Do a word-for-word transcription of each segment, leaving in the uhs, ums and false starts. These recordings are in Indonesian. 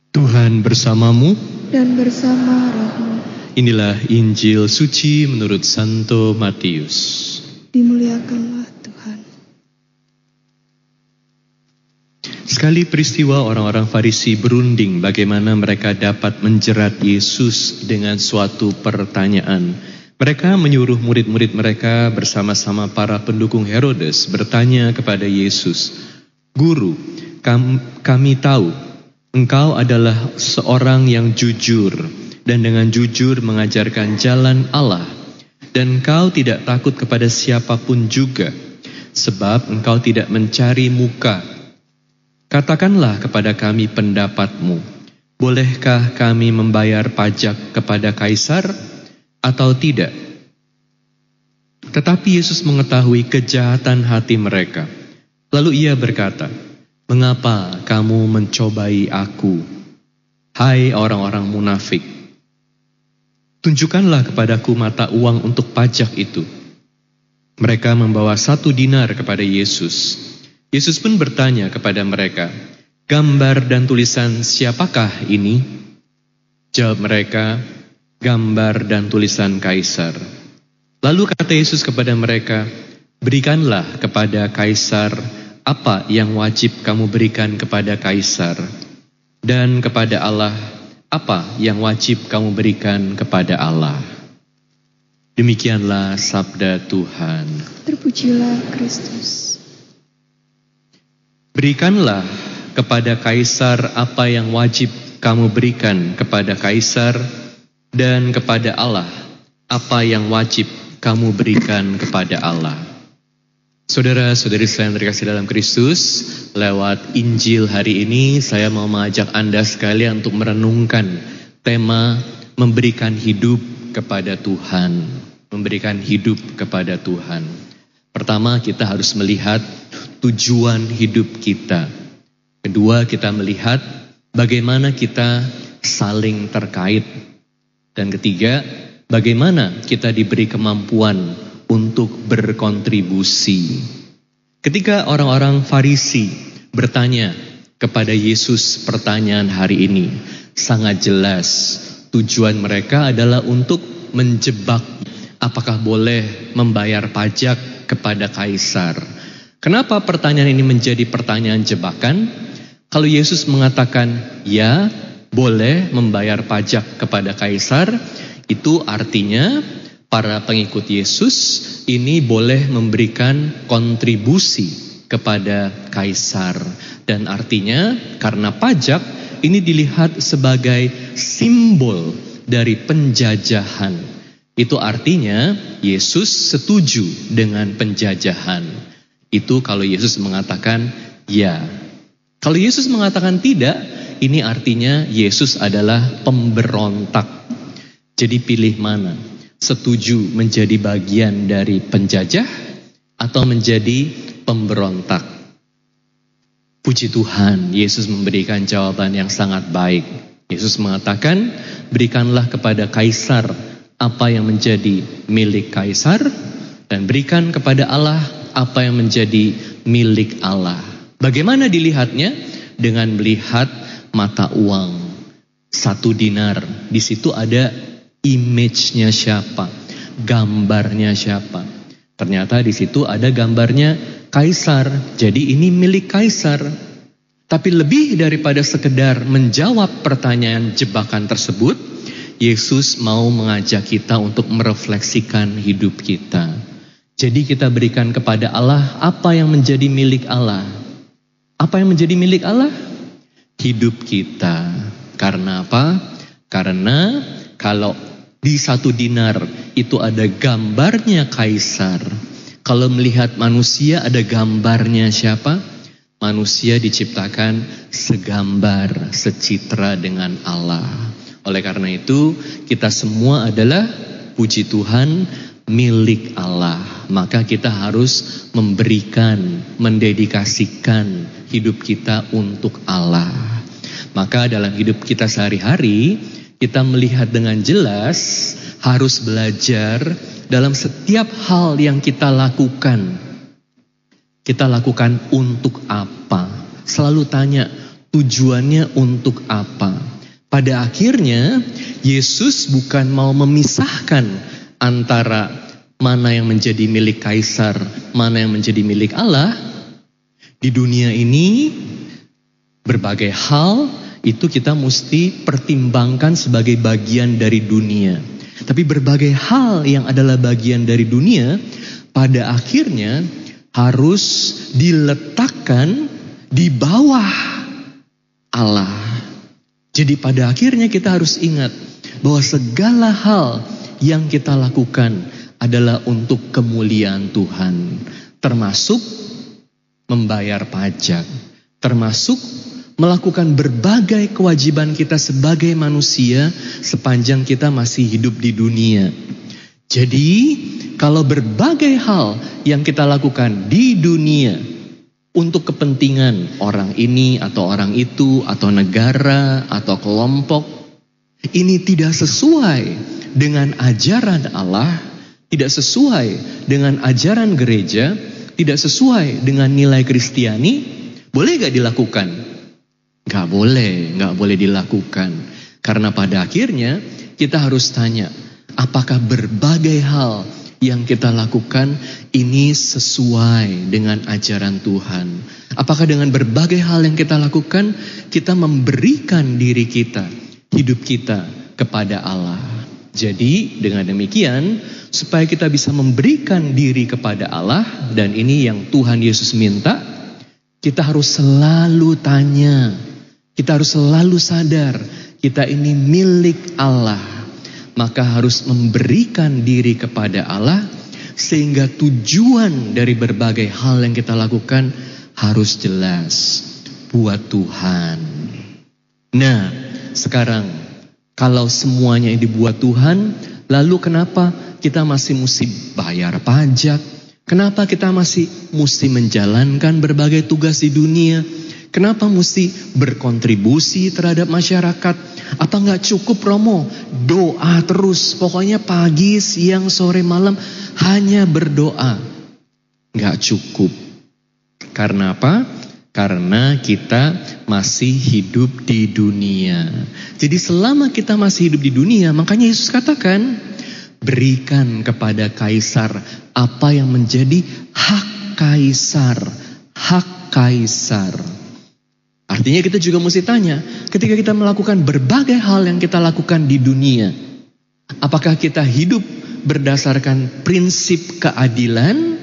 Tuhan bersamamu dan bersama rohmu. Inilah Injil suci menurut Santo Matius. Dimuliakanlah Tuhan. Sekali peristiwa orang-orang Farisi berunding bagaimana mereka dapat menjerat Yesus dengan suatu pertanyaan. Mereka menyuruh murid-murid mereka bersama-sama para pendukung Herodes bertanya kepada Yesus, "Guru, kam- kami tahu Engkau adalah seorang yang jujur dan dengan jujur mengajarkan jalan Allah. Dan engkau tidak takut kepada siapapun juga, sebab engkau tidak mencari muka. Katakanlah kepada kami pendapatmu. Bolehkah kami membayar pajak kepada Kaisar atau tidak?" Tetapi Yesus mengetahui kejahatan hati mereka. Lalu ia berkata, "Mengapa kamu mencobai aku, hai orang-orang munafik? Tunjukkanlah kepadaku mata uang untuk pajak itu." Mereka membawa satu dinar kepada Yesus. Yesus pun bertanya kepada mereka, "Gambar dan tulisan siapakah ini?" Jawab mereka, "Gambar dan tulisan Kaisar." Lalu kata Yesus kepada mereka, "Berikanlah kepada Kaisar apa yang wajib kamu berikan kepada Kaisar, dan kepada Allah apa yang wajib kamu berikan kepada Allah." Demikianlah sabda Tuhan. Terpujilah Kristus. Berikanlah kepada Kaisar apa yang wajib kamu berikan kepada Kaisar, dan kepada Allah apa yang wajib kamu berikan kepada Allah. Saudara-saudari saya yang terkasih dalam Kristus, lewat Injil hari ini saya mau mengajak Anda sekalian untuk merenungkan tema memberikan hidup kepada Tuhan. Memberikan hidup kepada Tuhan. Pertama, kita harus melihat tujuan hidup kita. Kedua, kita melihat bagaimana kita saling terkait. Dan ketiga, bagaimana kita diberi kemampuan untuk berkontribusi. Ketika orang-orang Farisi bertanya kepada Yesus pertanyaan hari ini, sangat jelas tujuan mereka adalah untuk menjebak apakah boleh membayar pajak kepada Kaisar. Kenapa pertanyaan ini menjadi pertanyaan jebakan? Kalau Yesus mengatakan ya, boleh membayar pajak kepada Kaisar, itu artinya para pengikut Yesus ini boleh memberikan kontribusi kepada Kaisar. Dan artinya karena pajak ini dilihat sebagai simbol dari penjajahan. Itu artinya Yesus setuju dengan penjajahan. Itu kalau Yesus mengatakan ya. Kalau Yesus mengatakan tidak, ini artinya Yesus adalah pemberontak. Jadi pilih mana? Setuju menjadi bagian dari penjajah atau menjadi pemberontak? Puji Tuhan, Yesus memberikan jawaban yang sangat baik. Yesus mengatakan, berikanlah kepada Kaisar apa yang menjadi milik Kaisar, dan berikan kepada Allah apa yang menjadi milik Allah. Bagaimana dilihatnya? Dengan melihat mata uang. Satu dinar, di situ ada image-nya siapa, gambarnya siapa. Ternyata di situ ada gambarnya Kaisar. Jadi ini milik Kaisar. Tapi lebih daripada sekedar menjawab pertanyaan jebakan tersebut, Yesus mau mengajak kita untuk merefleksikan hidup kita. Jadi kita berikan kepada Allah apa yang menjadi milik Allah. Apa yang menjadi milik Allah? Hidup kita. Karena apa? Karena kalau di satu dinar itu ada gambarnya Kaisar. Kalau melihat manusia ada gambarnya siapa? Manusia diciptakan segambar, secitra dengan Allah. Oleh karena itu kita semua adalah, puji Tuhan, milik Allah. Maka kita harus memberikan, mendedikasikan hidup kita untuk Allah. Maka dalam hidup kita sehari-hari kita melihat dengan jelas, harus belajar dalam setiap hal yang kita lakukan. Kita lakukan untuk apa? Selalu tanya, Tujuannya untuk apa? Pada akhirnya Yesus bukan mau memisahkan antara mana yang menjadi milik kaisar, mana yang menjadi milik Allah. Di dunia ini berbagai hal itu kita mesti pertimbangkan sebagai bagian dari dunia. Tapi berbagai hal yang adalah bagian dari dunia pada akhirnya harus diletakkan di bawah Allah. Jadi pada akhirnya kita harus ingat bahwa segala hal yang kita lakukan adalah untuk kemuliaan Tuhan. Termasuk membayar pajak, termasuk melakukan berbagai kewajiban kita sebagai manusia sepanjang kita masih hidup di dunia. Jadi kalau berbagai hal yang kita lakukan di dunia untuk kepentingan orang ini atau orang itu atau negara atau kelompok, ini tidak sesuai dengan ajaran Allah, tidak sesuai dengan ajaran gereja, tidak sesuai dengan nilai Kristiani, boleh gak dilakukan? Gak boleh, gak boleh dilakukan. Karena pada akhirnya kita harus tanya, apakah berbagai hal yang kita lakukan ini sesuai dengan ajaran Tuhan? Apakah dengan berbagai hal yang kita lakukan, kita memberikan diri kita, hidup kita kepada Allah? Jadi dengan demikian, supaya kita bisa memberikan diri kepada Allah, dan ini yang Tuhan Yesus minta, kita harus selalu tanya, kita harus selalu sadar, kita ini milik Allah. Maka harus memberikan diri kepada Allah, sehingga tujuan dari berbagai hal yang kita lakukan harus jelas buat Tuhan. Nah, sekarang kalau semuanya dibuat Tuhan, lalu kenapa kita masih mesti bayar pajak? Kenapa kita masih mesti menjalankan berbagai tugas di dunia? Kenapa mesti berkontribusi terhadap masyarakat? Apa nggak cukup Romo? Doa terus, pokoknya pagi, siang, sore, malam hanya berdoa. Nggak cukup. Karena apa? Karena kita masih hidup di dunia. Jadi selama kita masih hidup di dunia, makanya Yesus katakan, berikan kepada kaisar apa yang menjadi hak kaisar. Hak kaisar. Artinya kita juga mesti tanya, ketika kita melakukan berbagai hal yang kita lakukan di dunia, apakah kita hidup berdasarkan prinsip keadilan?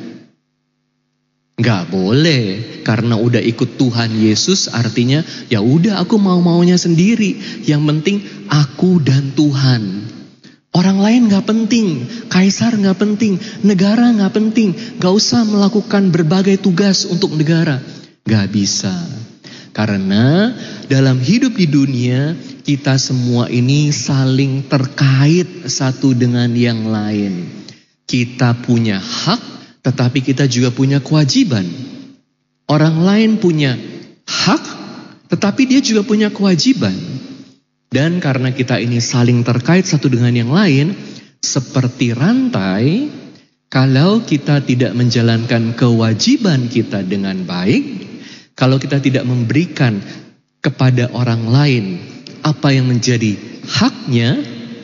Gak boleh, karena udah ikut Tuhan Yesus artinya ya udah aku mau-maunya sendiri. Yang penting aku dan Tuhan. Orang lain gak penting, kaisar gak penting, negara gak penting. Gak usah melakukan berbagai tugas untuk negara. Gak bisa. Karena dalam hidup di dunia, kita semua ini saling terkait satu dengan yang lain. Kita punya hak, tetapi kita juga punya kewajiban. Orang lain punya hak, tetapi dia juga punya kewajiban. Dan karena kita ini saling terkait satu dengan yang lain, seperti rantai, kalau kita tidak menjalankan kewajiban kita dengan baik, kalau kita tidak memberikan kepada orang lain apa yang menjadi haknya,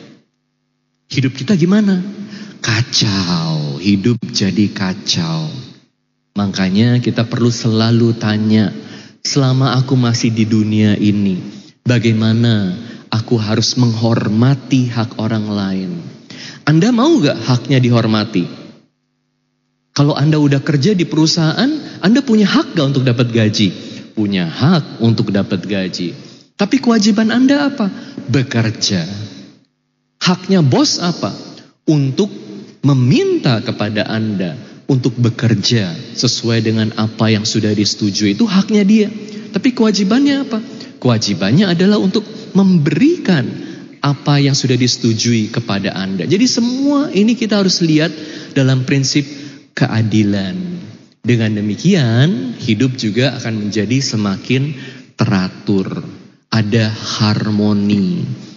hidup kita gimana? Kacau, hidup jadi kacau. Makanya kita perlu selalu tanya, selama aku masih di dunia ini, bagaimana aku harus menghormati hak orang lain? Anda mau gak haknya dihormati? Kalau Anda udah kerja di perusahaan, Anda punya hak gak untuk dapat gaji? Punya hak untuk dapat gaji. Tapi kewajiban Anda apa? Bekerja. Haknya bos apa? Untuk meminta kepada Anda untuk bekerja sesuai dengan apa yang sudah disetujui. Itu haknya dia. Tapi kewajibannya apa? Kewajibannya adalah untuk memberikan apa yang sudah disetujui kepada Anda. Jadi semua ini kita harus lihat dalam prinsip keadilan. Dengan demikian, hidup juga akan menjadi semakin teratur. Ada harmoni.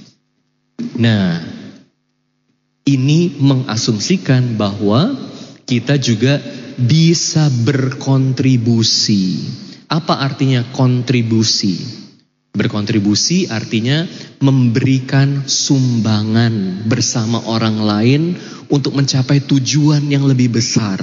Nah, ini mengasumsikan bahwa kita juga bisa berkontribusi. Apa artinya kontribusi? Berkontribusi artinya memberikan sumbangan bersama orang lain untuk mencapai tujuan yang lebih besar.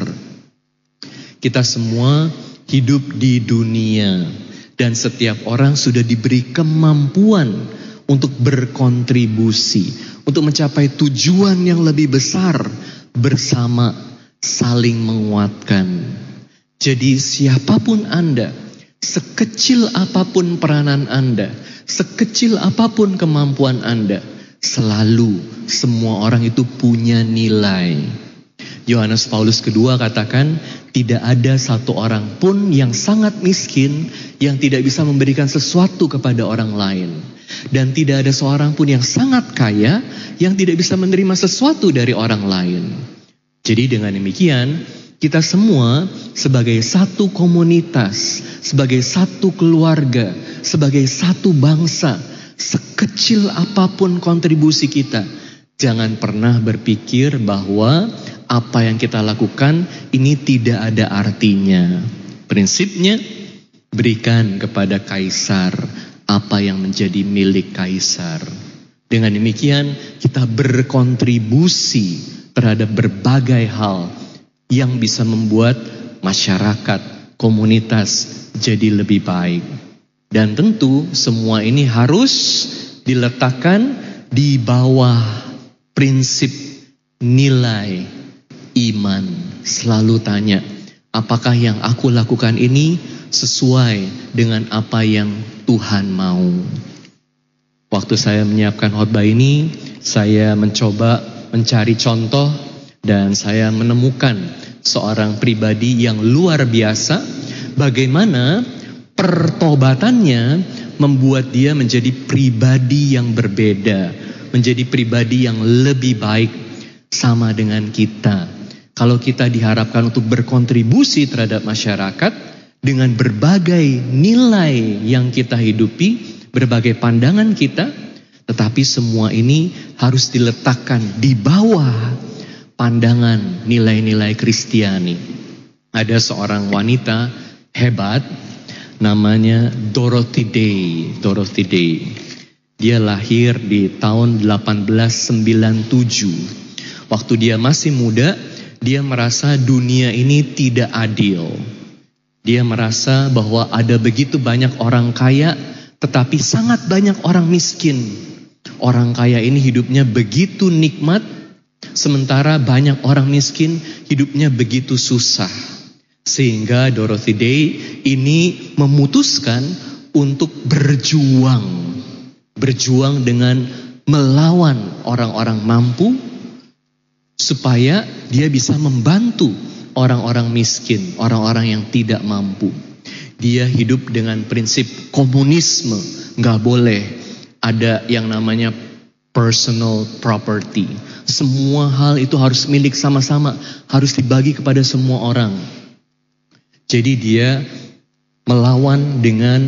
Kita semua hidup di dunia dan setiap orang sudah diberi kemampuan untuk berkontribusi, untuk mencapai tujuan yang lebih besar bersama, saling menguatkan. Jadi siapapun Anda, sekecil apapun peranan Anda, sekecil apapun kemampuan Anda, selalu semua orang itu punya nilai. Yohanes Paulus kedua katakan, tidak ada satu orang pun yang sangat miskin yang tidak bisa memberikan sesuatu kepada orang lain. Dan tidak ada seorang pun yang sangat kaya yang tidak bisa menerima sesuatu dari orang lain. Jadi dengan demikian, kita semua sebagai satu komunitas, sebagai satu keluarga, sebagai satu bangsa, sekecil apapun kontribusi kita, jangan pernah berpikir bahwa apa yang kita lakukan ini tidak ada artinya. Prinsipnya, berikan kepada kaisar apa yang menjadi milik kaisar. Dengan demikian, kita berkontribusi terhadap berbagai hal yang bisa membuat masyarakat, komunitas jadi lebih baik. Dan tentu semua ini harus diletakkan di bawah prinsip nilai iman. Selalu tanya, apakah yang aku lakukan ini sesuai dengan apa yang Tuhan mau? Waktu saya menyiapkan khotbah ini, saya mencoba mencari contoh dan saya menemukan seorang pribadi yang luar biasa, bagaimana pertobatannya membuat dia menjadi pribadi yang berbeda, menjadi pribadi yang lebih baik sama dengan kita. Kalau kita diharapkan untuk berkontribusi terhadap masyarakat dengan berbagai nilai yang kita hidupi, berbagai pandangan kita, tetapi semua ini harus diletakkan di bawah pandangan nilai-nilai Kristiani. Ada seorang wanita hebat namanya Dorothy Day. Dorothy Day. Dia lahir di tahun delapan belas sembilan puluh tujuh. Waktu dia masih muda, dia merasa dunia ini tidak adil. Dia merasa bahwa ada begitu banyak orang kaya, tetapi sangat banyak orang miskin. Orang kaya ini hidupnya begitu nikmat, sementara banyak orang miskin hidupnya begitu susah. Sehingga Dorothy Day ini memutuskan untuk berjuang. Berjuang dengan melawan orang-orang mampu, supaya dia bisa membantu orang-orang miskin, orang-orang yang tidak mampu. Dia hidup dengan prinsip komunisme. Nggak boleh ada yang namanya personal property. Semua hal itu harus milik sama-sama, harus dibagi kepada semua orang. Jadi dia melawan dengan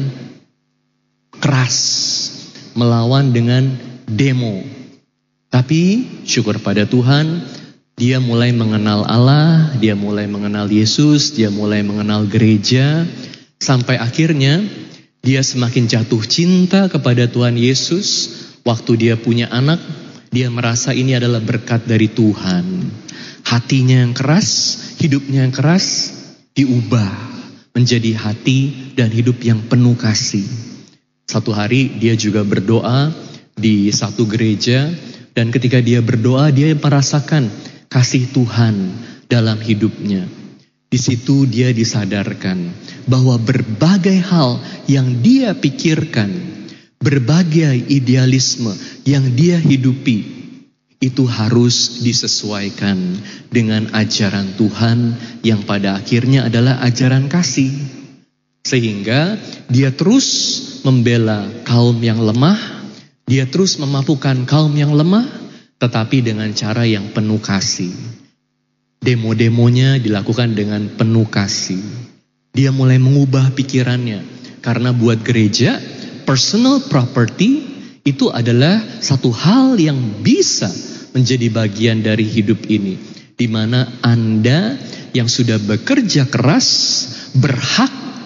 keras, melawan dengan demo. Tapi syukur pada Tuhan, dia mulai mengenal Allah, dia mulai mengenal Yesus, dia mulai mengenal gereja, sampai akhirnya dia semakin jatuh cinta kepada Tuhan Yesus. Waktu dia punya anak, dia merasa ini adalah berkat dari Tuhan. Hatinya yang keras, hidupnya yang keras, diubah menjadi hati dan hidup yang penuh kasih. Satu hari dia juga berdoa di satu gereja, dan ketika dia berdoa, dia merasakan kasih Tuhan dalam hidupnya. Di situ dia disadarkan bahwa berbagai hal yang dia pikirkan, berbagai idealisme yang dia hidupi, itu harus disesuaikan dengan ajaran Tuhan yang pada akhirnya adalah ajaran kasih. Sehingga dia terus membela kaum yang lemah, dia terus memampukan kaum yang lemah, tetapi dengan cara yang penuh kasih. Demo-demonya dilakukan dengan penuh kasih. Dia mulai mengubah pikirannya, karena buat gereja, personal property itu adalah satu hal yang bisa menjadi bagian dari hidup ini, di mana Anda yang sudah bekerja keras berhak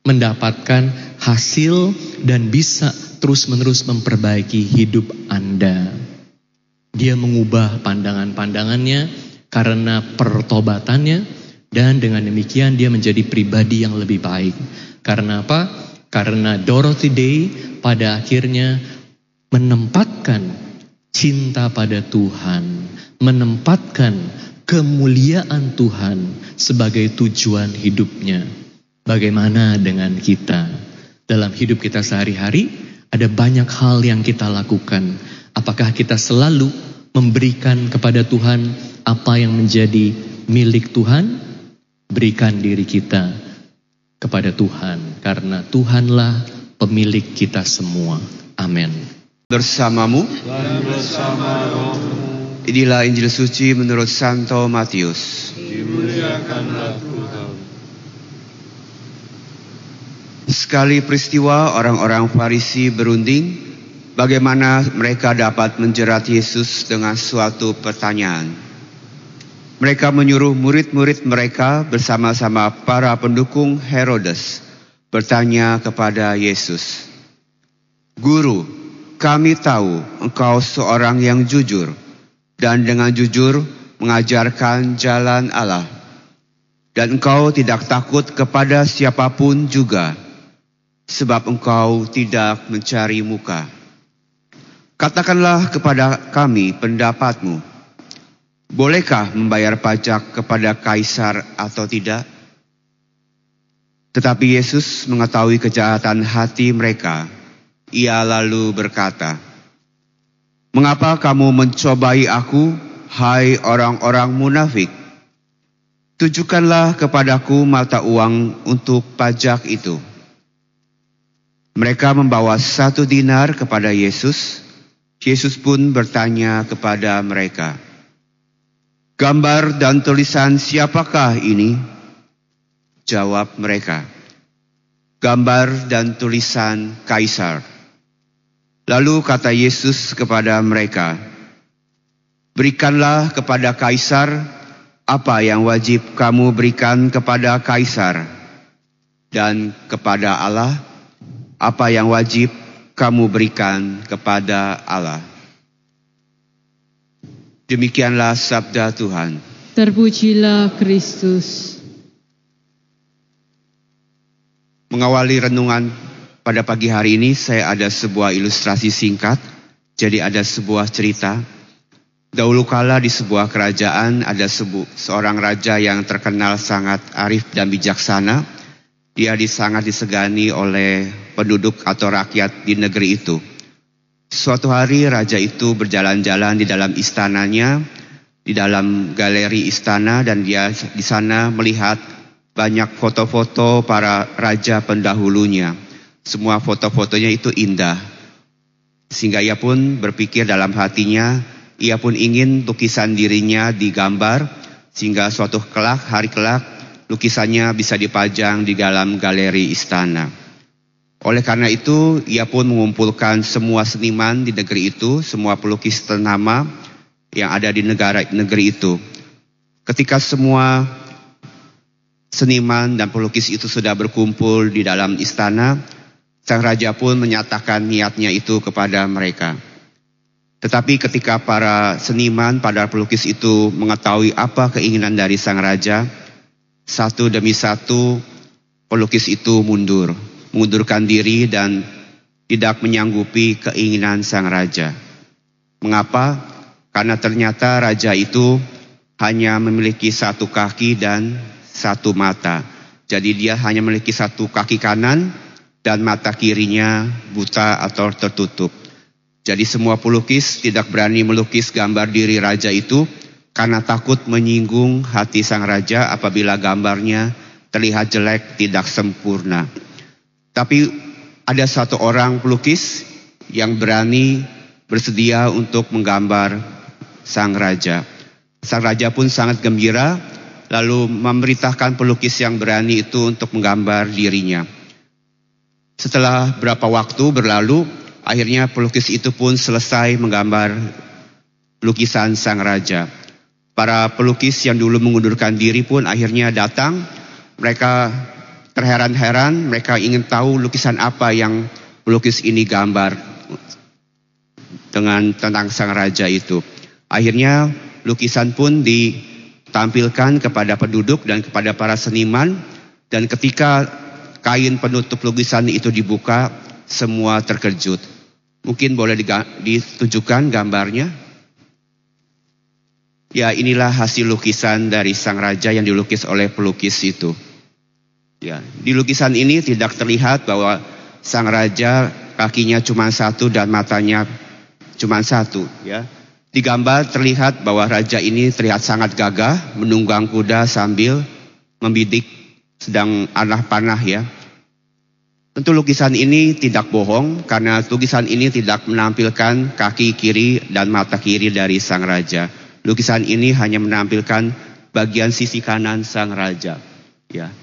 mendapatkan hasil dan bisa terus-menerus memperbaiki hidup Anda. Dia mengubah pandangan-pandangannya karena pertobatannya, dan dengan demikian dia menjadi pribadi yang lebih baik. Karena apa? Karena Dorothy Day pada akhirnya menempatkan cinta pada Tuhan, menempatkan kemuliaan Tuhan sebagai tujuan hidupnya. Bagaimana dengan kita? Dalam hidup kita sehari-hari ada banyak hal yang kita lakukan. Apakah kita selalu memberikan kepada Tuhan apa yang menjadi milik Tuhan? Berikan diri kita kepada Tuhan, karena Tuhanlah pemilik kita semua. Amin. Bersamamu dan bersama rohmu. Inilah Injil suci menurut Santo Matius. Dimuliakanlah Tuhan. Sekali peristiwa orang-orang Farisi berunding bagaimana mereka dapat menjerat Yesus dengan suatu pertanyaan. Mereka menyuruh murid-murid mereka bersama-sama para pendukung Herodes bertanya kepada Yesus, "Guru, kami tahu engkau seorang yang jujur dan dengan jujur mengajarkan jalan Allah. Dan engkau tidak takut kepada siapapun juga, sebab engkau tidak mencari muka. Katakanlah kepada kami pendapatmu. Bolehkah membayar pajak kepada Kaisar atau tidak?" Tetapi Yesus mengetahui kejahatan hati mereka. Ia lalu berkata, "Mengapa kamu mencobai aku, hai orang-orang munafik? Tunjukkanlah kepadaku mata uang untuk pajak itu." Mereka membawa satu dinar kepada Yesus. Yesus pun bertanya kepada mereka, "Gambar dan tulisan siapakah ini?" Jawab mereka, "Gambar dan tulisan Kaisar." Lalu kata Yesus kepada mereka, "Berikanlah kepada Kaisar apa yang wajib kamu berikan kepada Kaisar, dan kepada Allah apa yang wajib kamu berikan kepada Allah." Demikianlah sabda Tuhan. Terpujilah Kristus. Mengawali renungan pada pagi hari ini, saya ada sebuah ilustrasi singkat. Jadi ada sebuah cerita. Dahulu kala di sebuah kerajaan ada sebu, seorang raja yang terkenal sangat arif dan bijaksana. Dia sangat disegani oleh penduduk atau rakyat di negeri itu. Suatu hari raja itu berjalan-jalan di dalam istananya, di dalam galeri istana, dan dia di sana melihat banyak foto-foto para raja pendahulunya. Semua foto-fotonya itu indah. Sehingga ia pun berpikir dalam hatinya, ia pun ingin lukisan dirinya digambar, sehingga suatu kelak, hari kelak, lukisannya bisa dipajang di dalam galeri istana. Oleh karena itu, ia pun mengumpulkan semua seniman di negeri itu, semua pelukis ternama yang ada di negara negeri itu. Ketika semua seniman dan pelukis itu sudah berkumpul di dalam istana, sang raja pun menyatakan niatnya itu kepada mereka. Tetapi ketika para seniman, para pelukis itu mengetahui apa keinginan dari sang raja, satu demi satu pelukis itu mundur. Mengundurkan diri dan tidak menyanggupi keinginan sang raja. Mengapa? Karena ternyata raja itu hanya memiliki satu kaki dan satu mata. Jadi dia hanya memiliki satu kaki kanan dan mata kirinya buta atau tertutup. Jadi semua pelukis tidak berani melukis gambar diri raja itu karena takut menyinggung hati sang raja apabila gambarnya terlihat jelek, tidak sempurna. Tapi ada satu orang pelukis yang berani bersedia untuk menggambar sang raja. Sang raja pun sangat gembira, lalu memerintahkan pelukis yang berani itu untuk menggambar dirinya. Setelah berapa waktu berlalu, akhirnya pelukis itu pun selesai menggambar lukisan sang raja. Para pelukis yang dulu mengundurkan diri pun akhirnya datang. Mereka terheran-heran, mereka ingin tahu lukisan apa yang pelukis ini gambar dengan tentang sang raja itu. Akhirnya lukisan pun ditampilkan kepada penduduk dan kepada para seniman, dan ketika kain penutup lukisan itu dibuka, semua terkejut. Mungkin boleh ditunjukkan gambarnya. Ya, inilah hasil lukisan dari sang raja yang dilukis oleh pelukis itu. Ya, di lukisan ini tidak terlihat bahwa sang raja kakinya cuma satu dan matanya cuma satu. Ya, di gambar terlihat bahwa raja ini terlihat sangat gagah menunggang kuda sambil membidik sedang anak panah ya. Tentu lukisan ini tidak bohong karena lukisan ini tidak menampilkan kaki kiri dan mata kiri dari sang raja. Lukisan ini hanya menampilkan bagian sisi kanan sang raja. Ya.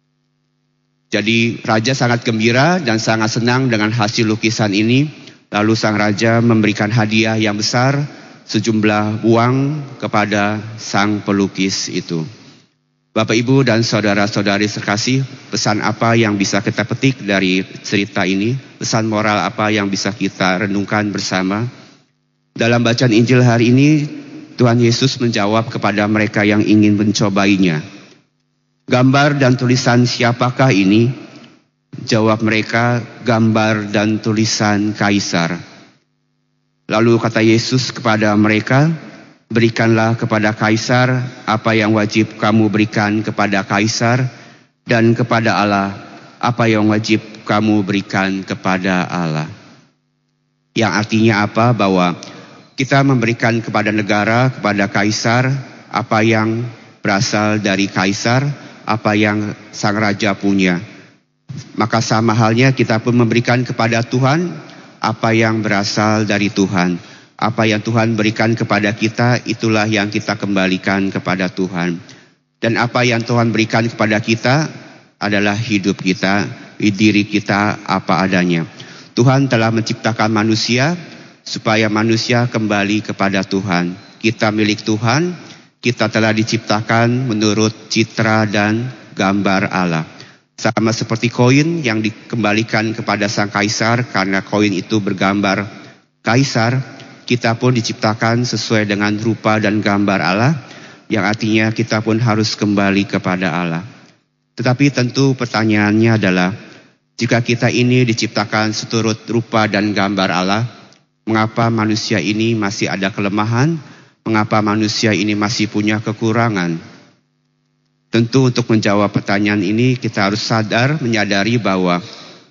Jadi raja sangat gembira dan sangat senang dengan hasil lukisan ini. Lalu sang raja memberikan hadiah yang besar, sejumlah uang kepada sang pelukis itu. Bapak, Ibu, dan saudara-saudari terkasih, pesan apa yang bisa kita petik dari cerita ini? Pesan moral apa yang bisa kita renungkan bersama? Dalam bacaan Injil hari ini, Tuhan Yesus menjawab kepada mereka yang ingin mencobainya. Gambar dan tulisan siapakah ini? Jawab mereka, gambar dan tulisan Kaisar. Lalu kata Yesus kepada mereka, berikanlah kepada Kaisar apa yang wajib kamu berikan kepada Kaisar, dan kepada Allah apa yang wajib kamu berikan kepada Allah. Yang artinya apa? Bahwa kita memberikan kepada negara, kepada Kaisar, apa yang berasal dari Kaisar, apa yang sang raja punya. Maka sama halnya kita pun memberikan kepada Tuhan apa yang berasal dari Tuhan. Apa yang Tuhan berikan kepada kita, itulah yang kita kembalikan kepada Tuhan. Dan apa yang Tuhan berikan kepada kita adalah hidup kita, diri kita apa adanya. Tuhan telah menciptakan manusia supaya manusia kembali kepada Tuhan. Kita milik Tuhan, kita telah diciptakan menurut citra dan gambar Allah. Sama seperti koin yang dikembalikan kepada sang Kaisar karena koin itu bergambar Kaisar, kita pun diciptakan sesuai dengan rupa dan gambar Allah, yang artinya kita pun harus kembali kepada Allah. Tetapi tentu pertanyaannya adalah, jika kita ini diciptakan seturut rupa dan gambar Allah, mengapa manusia ini masih ada kelemahan? Mengapa manusia ini masih punya kekurangan? Tentu untuk menjawab pertanyaan ini kita harus sadar, menyadari bahwa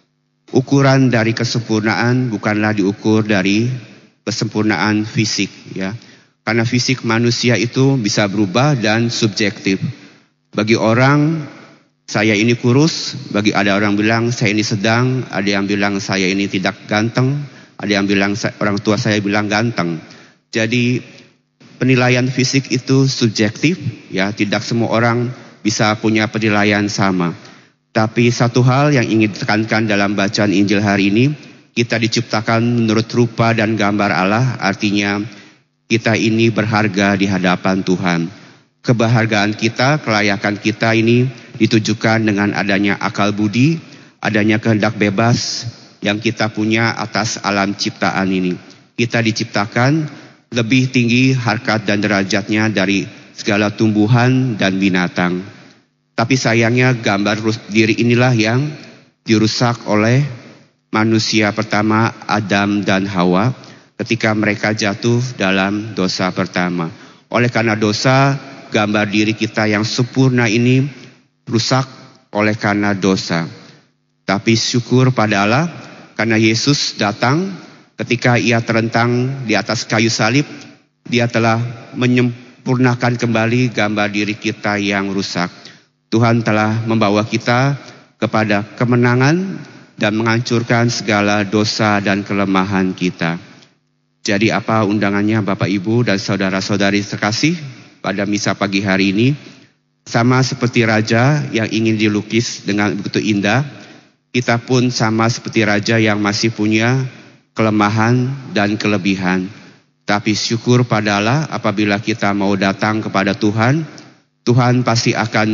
ukuran dari kesempurnaan bukanlah diukur dari kesempurnaan fisik, ya. Karena fisik manusia itu bisa berubah dan subjektif. Bagi orang, saya ini kurus, bagi ada orang bilang saya ini sedang, ada yang bilang saya ini tidak ganteng, ada yang bilang orang tua saya bilang ganteng. Jadi penilaian fisik itu subjektif, ya, tidak semua orang bisa punya penilaian sama. Tapi satu hal yang ingin ditekankan dalam bacaan Injil hari ini, kita diciptakan menurut rupa dan gambar Allah, artinya kita ini berharga di hadapan Tuhan. Keberhargaan kita, kelayakan kita ini ditujukan dengan adanya akal budi, adanya kehendak bebas yang kita punya atas alam ciptaan ini. Kita diciptakan lebih tinggi harkat dan derajatnya dari segala tumbuhan dan binatang. Tapi sayangnya gambar diri inilah yang dirusak oleh manusia pertama, Adam dan Hawa, ketika mereka jatuh dalam dosa pertama. Oleh karena dosa, gambar diri kita yang sempurna ini rusak oleh karena dosa. Tapi syukur pada Allah, karena Yesus datang. Ketika ia terentang di atas kayu salib, dia telah menyempurnakan kembali gambar diri kita yang rusak. Tuhan telah membawa kita kepada kemenangan dan menghancurkan segala dosa dan kelemahan kita. Jadi apa undangannya Bapak, Ibu, dan saudara-saudari terkasih pada misa pagi hari ini? Sama seperti raja yang ingin dilukis dengan begitu indah, kita pun sama seperti raja yang masih punya kelemahan dan kelebihan. Tapi syukur pada Allah, apabila kita mau datang kepada Tuhan, Tuhan pasti akan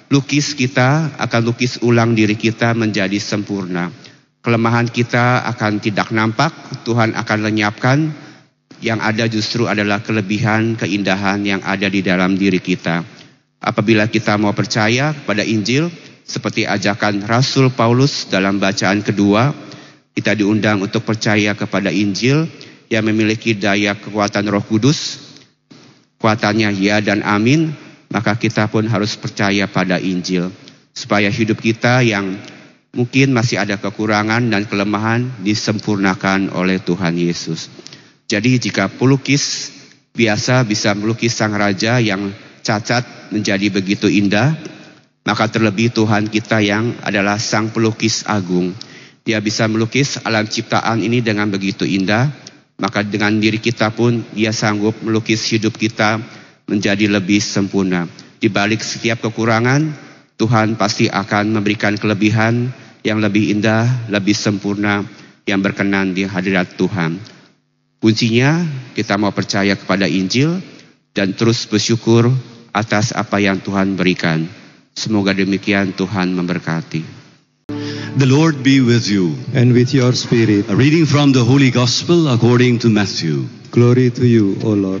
lukis kita, akan lukis ulang diri kita menjadi sempurna. Kelemahan kita akan tidak nampak, Tuhan akan lenyapkan. Yang ada justru adalah kelebihan, keindahan yang ada di dalam diri kita. Apabila kita mau percaya pada Injil, seperti ajakan Rasul Paulus dalam bacaan kedua, kita diundang untuk percaya kepada Injil yang memiliki daya kekuatan Roh Kudus. Kuatannya ya dan amin, maka kita pun harus percaya pada Injil. Supaya hidup kita yang mungkin masih ada kekurangan dan kelemahan disempurnakan oleh Tuhan Yesus. Jadi jika pelukis biasa bisa melukis sang raja yang cacat menjadi begitu indah, maka terlebih Tuhan kita yang adalah sang pelukis agung. Dia bisa melukis alam ciptaan ini dengan begitu indah, maka dengan diri kita pun Dia sanggup melukis hidup kita menjadi lebih sempurna. Di balik setiap kekurangan, Tuhan pasti akan memberikan kelebihan yang lebih indah, lebih sempurna, yang berkenan di hadirat Tuhan. Kuncinya kita mau percaya kepada Injil dan terus bersyukur atas apa yang Tuhan berikan. Semoga demikian Tuhan memberkati. The Lord be with you. And with your spirit. A reading from the Holy Gospel according to Matthew. Glory to you, O Lord.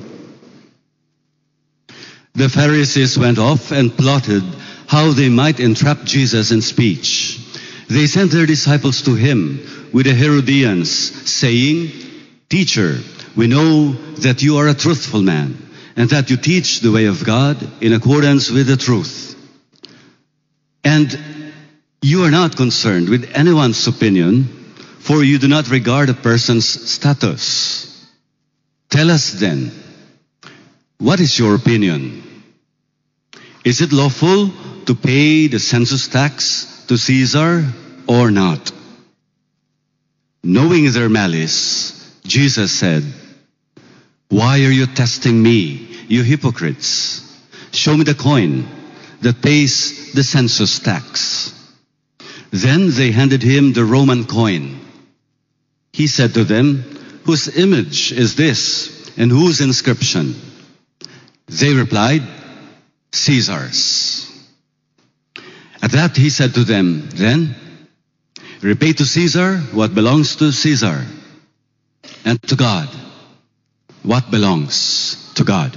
The Pharisees went off and plotted how they might entrap Jesus in speech. They sent their disciples to him with the Herodians, saying, "Teacher, we know that you are a truthful man, and that you teach the way of God in accordance with the truth. And you are not concerned with anyone's opinion, for you do not regard a person's status. Tell us then, what is your opinion? Is it lawful to pay the census tax to Caesar or not?" Knowing their malice, Jesus said, "Why are you testing me, you hypocrites? Show me the coin that pays the census tax." Then they handed him the Roman coin. He said to them, "Whose image is this, and whose inscription?" They replied, "Caesar's." At that he said to them, "Then repay to Caesar what belongs to Caesar, and to God what belongs to God."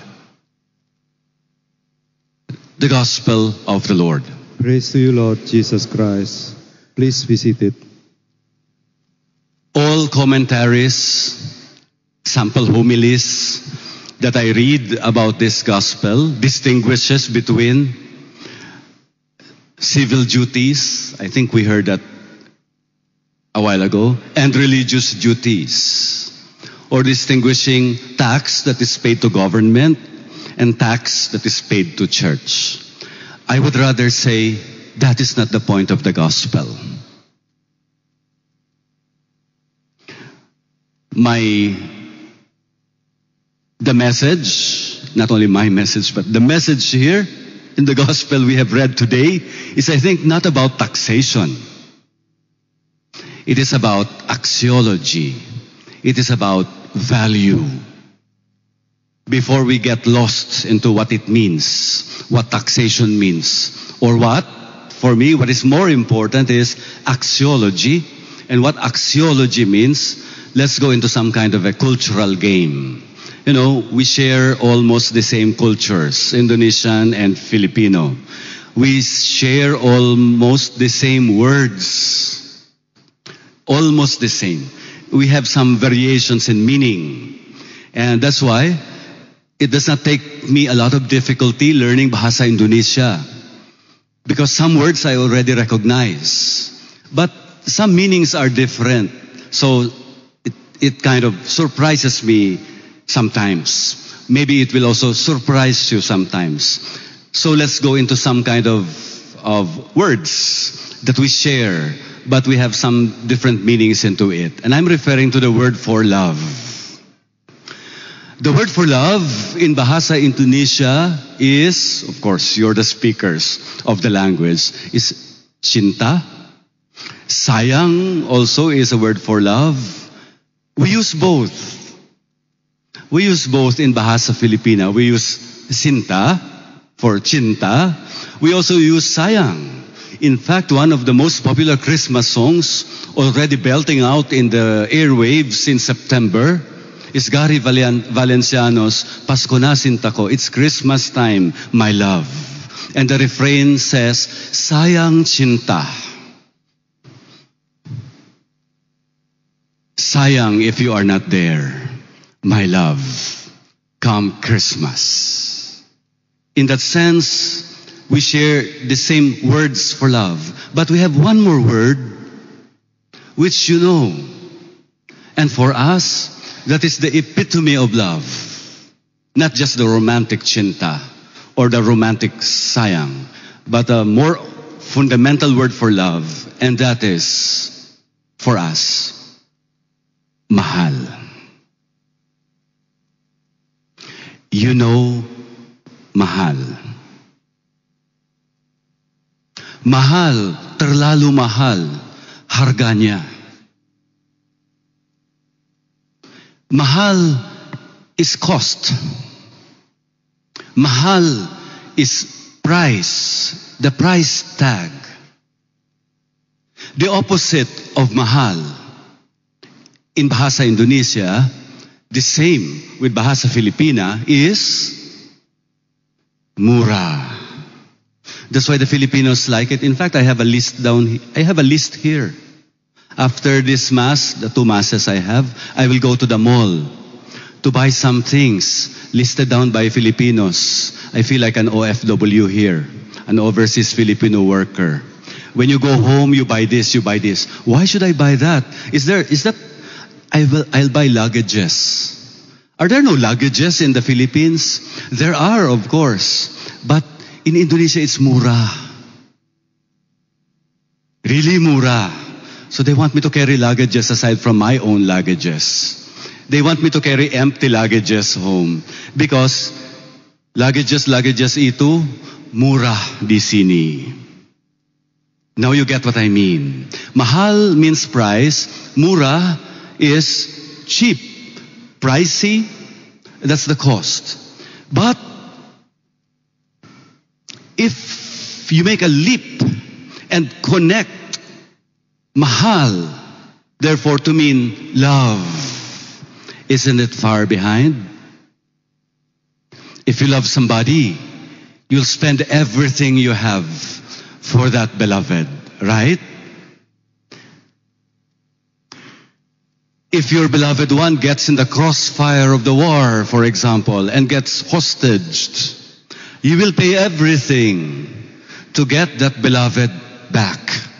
The Gospel of the Lord. Praise to you, Lord Jesus Christ. Please be seated. All commentaries, sample homilies that I read about this Gospel distinguishes between civil duties, I think we heard that a while ago, and religious duties, or distinguishing tax that is paid to government and tax that is paid to church. I would rather say that is not the point of the gospel. My, the message, not only my message, but the message here in the gospel we have read today is, I think, not about taxation. It is about axiology. It is about value. Before we get lost into what it means, what taxation means, or what, for me, what is more important is axiology. And what axiology means, let's go into some kind of a cultural game. You know, we share almost the same cultures, Indonesian and Filipino. We share almost the same words. Almost the same. We have some variations in meaning. And that's why it does not take me a lot of difficulty learning Bahasa Indonesia. Because some words I already recognize. But some meanings are different. So it, it kind of surprises me sometimes. Maybe it will also surprise you sometimes. So let's go into some kind of, of words that we share, but we have some different meanings into it. And I'm referring to the word for love. The word for love in Bahasa Indonesia is, of course, you're the speakers of the language, is cinta. Sayang also is a word for love. We use both. We use both in Bahasa Filipina. We use cinta for cinta, we also use sayang. In fact, one of the most popular Christmas songs already belting out in the airwaves in September is Gary Valen- Valenciano's Pasko na Sinta Ko. It's Christmas time, my love. And the refrain says, sayang cinta. Sayang if you are not there, my love, come Christmas. In that sense, we share the same words for love. But we have one more word, which you know. And for us, that is the epitome of love. Not just the romantic cinta or the romantic sayang, but a more fundamental word for love, and that is, for us, mahal. You know, mahal. Mahal, terlalu mahal, harganya. Mahal is cost. Mahal is price, the price tag. The opposite of mahal in Bahasa Indonesia, the same with Bahasa Filipina, is murah. That's why the Filipinos like it. In fact, I have a list down. I have a list here. After this mass, the two masses I have, I will go to the mall to buy some things listed down by Filipinos. I feel like an O F W here, an overseas Filipino worker. When you go home, you buy this, you buy this. Why should I buy that? Is there? Is that? I will. I'll buy luggages. Are there no luggages in the Philippines? There are, of course, but in Indonesia, it's murah. Really murah. So they want me to carry luggages aside from my own luggages. They want me to carry empty luggages home. Because luggages, luggages itu, murah di sini. Now you get what I mean. Mahal means price. Murah is cheap. Pricey, that's the cost. But if you make a leap and connect mahal, therefore to mean love, isn't it far behind? If you love somebody, you'll spend everything you have for that beloved, right? If your beloved one gets in the crossfire of the war, for example, and gets hostaged, you will pay everything to get that beloved back.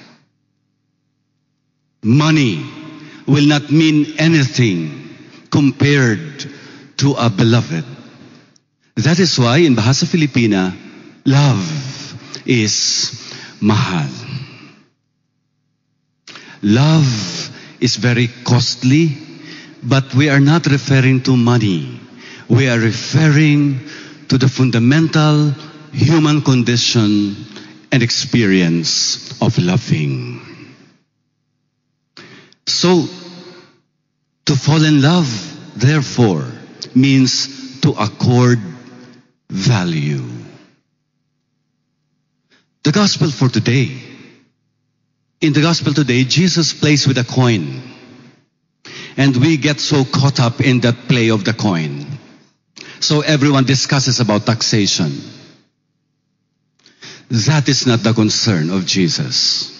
Money will not mean anything compared to a beloved. That is why in Bahasa Filipina, love is mahal. Love is very costly, but we are not referring to money. We are referring to the fundamental human condition and experience of loving. So, to fall in love, therefore, means to accord value. The gospel for today. In the gospel today, Jesus plays with a coin. And we get so caught up in that play of the coin. So everyone discusses about taxation. That is not the concern of Jesus.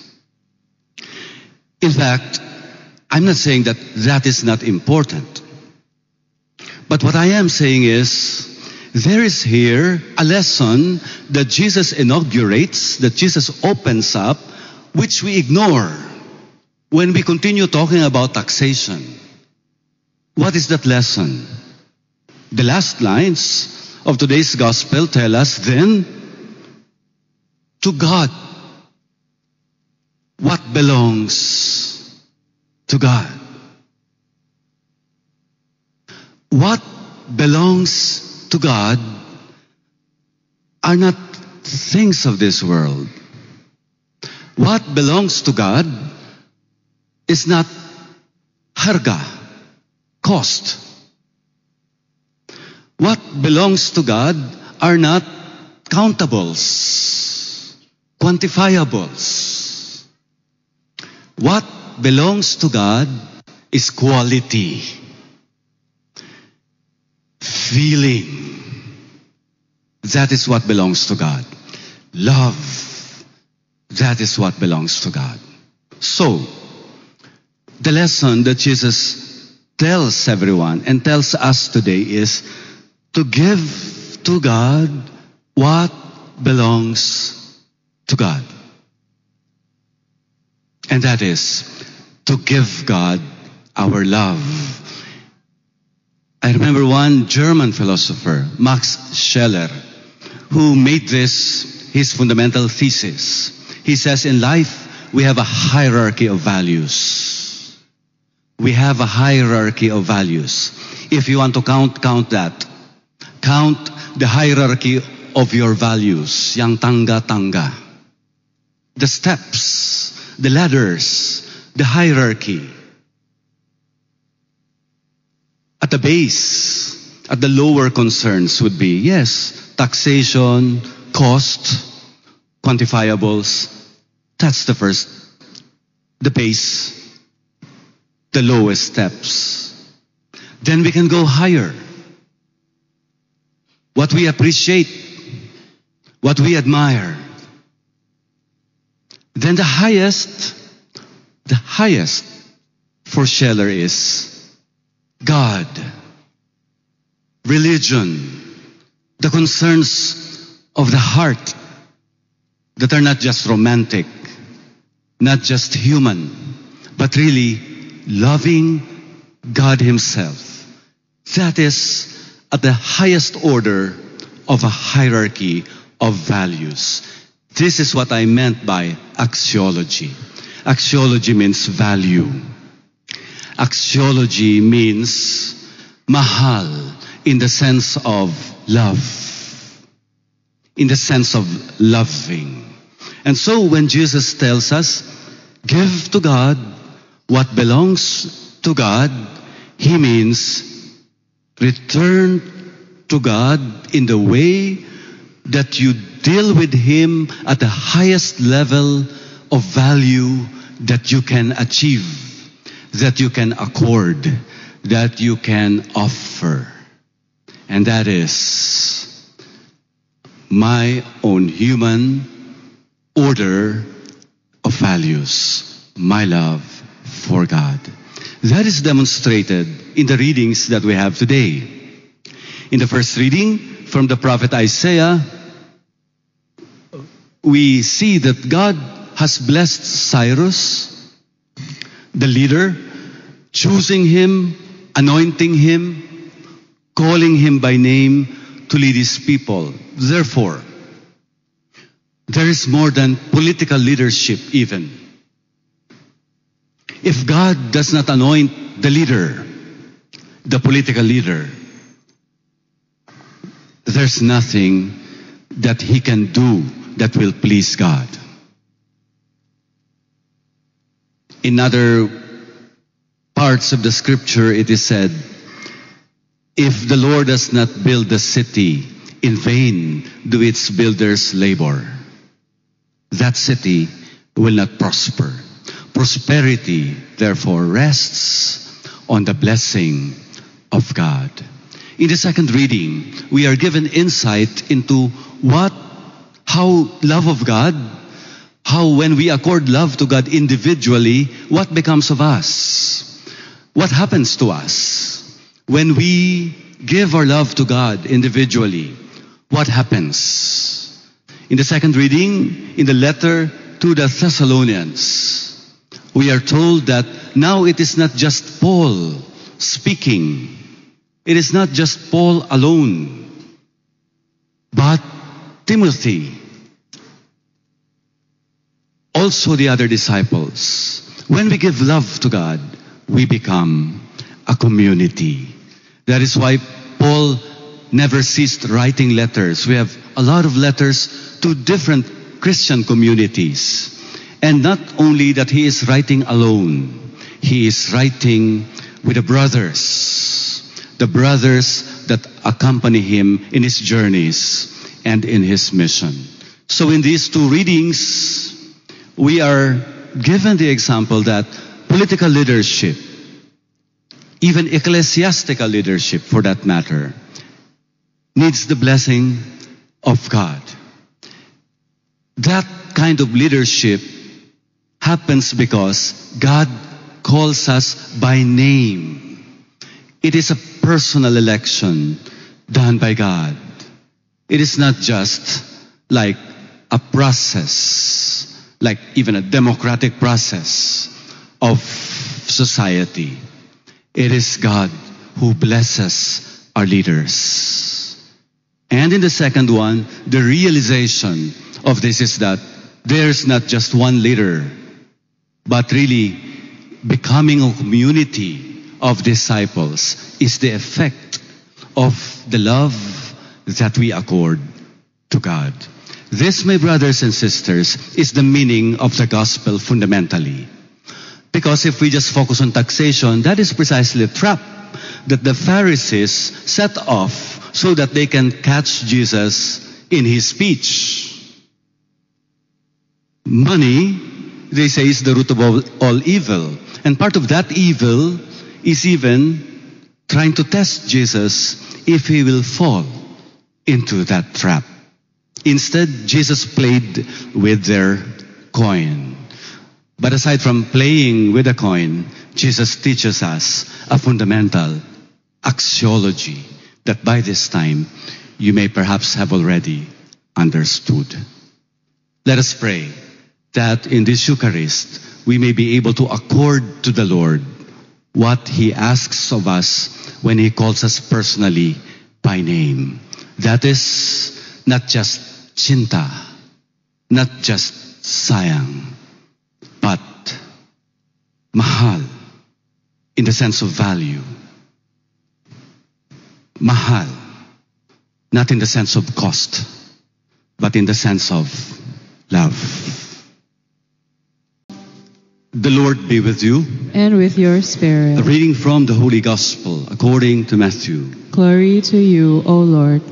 In fact, I'm not saying that that is not important. But what I am saying is, there is here a lesson that Jesus inaugurates, that Jesus opens up, which we ignore when we continue talking about taxation. What is that lesson? The last lines of today's gospel tell us, then, to God, what belongs to God? What belongs to God are not things of this world. What belongs to God is not harga, cost. What belongs to God are not countables, quantifiables. What belongs to God is quality, feeling. That is what belongs to God. Love. That is what belongs to God. So, the lesson that Jesus tells everyone and tells us today is to give to God what belongs to God. And that is to give God our love. I remember one German philosopher, Max Scheler, who made this his fundamental thesis. He says in life, we have a hierarchy of values. We have a hierarchy of values. If you want to count, count that. Count the hierarchy of your values. Yang tangga-tangga. The steps, the ladders, the hierarchy. At the base, at the lower concerns would be, yes, taxation, cost, quantifiables. That's the first, the base, the lowest steps. Then we can go higher. What we appreciate, what we admire. Then the highest, the highest for Scheler is God, religion, the concerns of the heart that are not just romantic, not just human, but really loving God Himself. That is at the highest order of a hierarchy of values. This is what I meant by axiology. Axiology means value. Axiology means mahal in the sense of love, in the sense of loving. And so when Jesus tells us, give to God what belongs to God, He means return to God in the way that you deal with Him at the highest level of value that you can achieve, that you can accord, that you can offer. And that is my own human order of values, my love for God. That is demonstrated in the readings that we have today. In the first reading from the prophet Isaiah, we see that God has blessed Cyrus, the leader, choosing him, anointing him, calling him by name to lead his people. Therefore, there is more than political leadership even. If God does not anoint the leader, the political leader, there's nothing that he can do that will please God. In other parts of the scripture, it is said, if the Lord does not build the city, in vain do its builders labor. That city will not prosper. Prosperity, therefore, rests on the blessing of God. In the second reading, we are given insight into what, how love of God, how when we accord love to God individually, what becomes of us? What happens to us? When we give our love to God individually, what happens? In the second reading, in the letter to the Thessalonians, we are told that now it is not just Paul speaking. It is not just Paul alone, but Timothy, also the other disciples. When we give love to God, we become a community. That is why Paul never ceased writing letters. We have a lot of letters to different Christian communities. And not only that he is writing alone, he is writing with the brothers, the brothers that accompany him in his journeys and in his mission. So in these two readings, we are given the example that political leadership, even ecclesiastical leadership for that matter, needs the blessing of God. That kind of leadership happens because God calls us by name. It is a personal election done by God. It is not just like a process, like even a democratic process of society. It is God who blesses our leaders. And in the second one, the realization of this is that there's not just one leader, but really becoming a community of disciples is the effect of the love that we accord to God. This, my brothers and sisters, is the meaning of the gospel fundamentally. Because if we just focus on taxation, that is precisely the trap that the Pharisees set off so that they can catch Jesus in his speech. Money, they say, is the root of all, all evil. And part of that evil is even trying to test Jesus if he will fall into that trap. Instead, Jesus played with their coin. But aside from playing with a coin, Jesus teaches us a fundamental axiology that by this time you may perhaps have already understood. Let us pray that in this Eucharist we may be able to accord to the Lord what he asks of us when he calls us personally by name. That is not just cinta, not just sayang, but mahal in the sense of value. Mahal, not in the sense of cost, but in the sense of love. The Lord be with you. And with your spirit. A reading from the Holy Gospel according to Matthew. Glory to you, O Lord.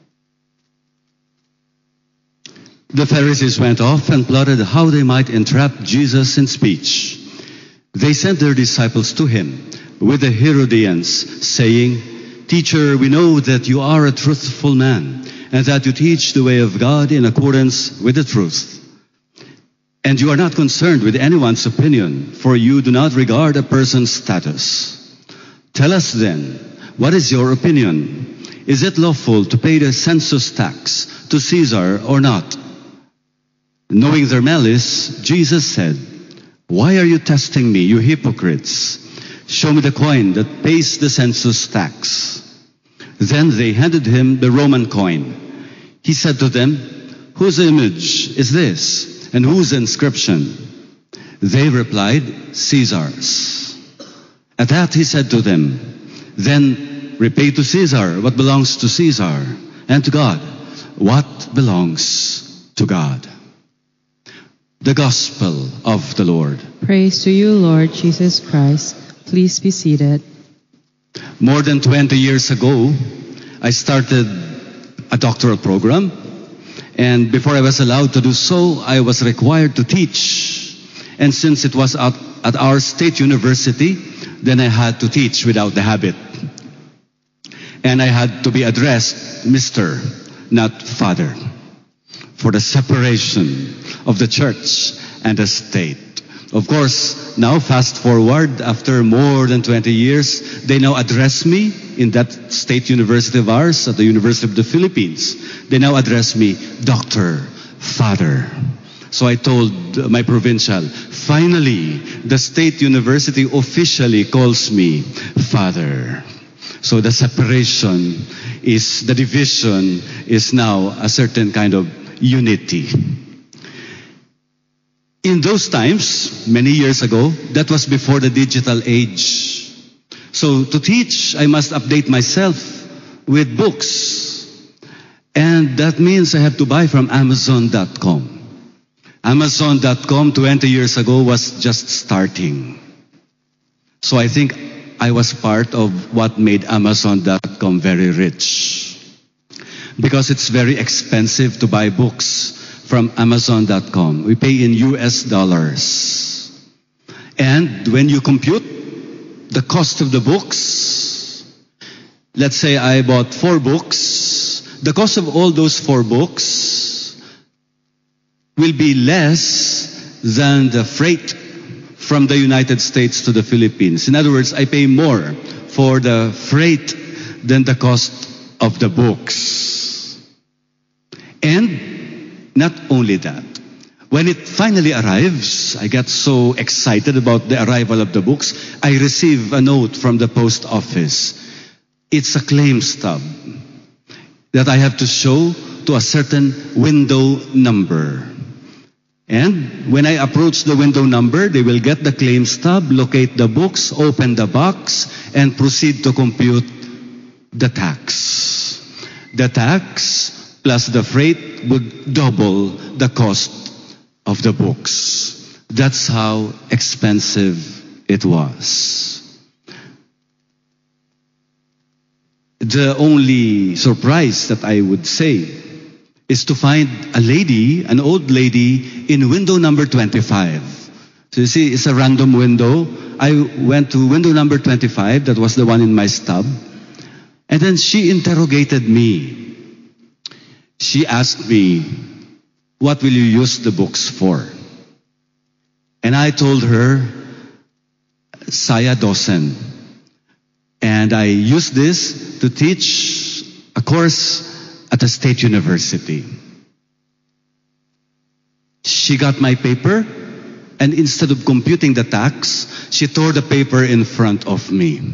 The Pharisees went off and plotted how they might entrap Jesus in speech. They sent their disciples to him with the Herodians, saying, "Teacher, we know that you are a truthful man, and that you teach the way of God in accordance with the truth. And you are not concerned with anyone's opinion, for you do not regard a person's status. Tell us then, what is your opinion? Is it lawful to pay the census tax to Caesar or not?" Knowing their malice, Jesus said, "Why are you testing me, you hypocrites? Show me the coin that pays the census tax." Then they handed him the Roman coin. He said to them, "Whose image is this, and whose inscription?" They replied, "Caesar's." At that he said to them, "Then repay to Caesar what belongs to Caesar, and to God what belongs to God." The Gospel of the Lord. Praise to you, Lord Jesus Christ. Please be seated. More than twenty years ago, I started a doctoral program, and before I was allowed to do so, I was required to teach. And since it was at, at our state university, then I had to teach without the habit. And I had to be addressed Mister, not Father, for the separation of the church and the state. Of course, now fast forward, after more than twenty years, they now address me in that state university of ours, at the University of the Philippines. They now address me Doctor, Father. So I told my provincial, finally, the state university officially calls me Father. So the separation is, the division is now a certain kind of unity. In those times, many years ago, that was before the digital age. So to teach, I must update myself with books. And that means I have to buy from Amazon dot com. Amazon dot com twenty years ago was just starting. So I think I was part of what made Amazon dot com very rich. because it's very expensive to buy books from Amazon dot com. We pay in U S dollars. And when you compute the cost of the books, let's say I bought four books, the cost of all those four books will be less than the freight from the United States to the Philippines. In other words, I pay more for the freight than the cost of the books. And not only that, when it finally arrives, I get so excited about the arrival of the books, I receive a note from the post office. It's a claim stub that I have to show to a certain window number. And when I approach the window number, they will get the claim stub, locate the books, open the box, and proceed to compute the tax. The tax plus the freight would double the cost of the books. That's how expensive it was. The only surprise that I would say is to find a lady, an old lady, in window number twenty-five. So you see, it's a random window. I went to window number twenty-five, that was the one in my stub. And then she interrogated me. She asked me, what will you use the books for? And I told her, Saya Dosen. And I used this to teach a course at a state university. She got my paper, and instead of computing the tax, she tore the paper in front of me.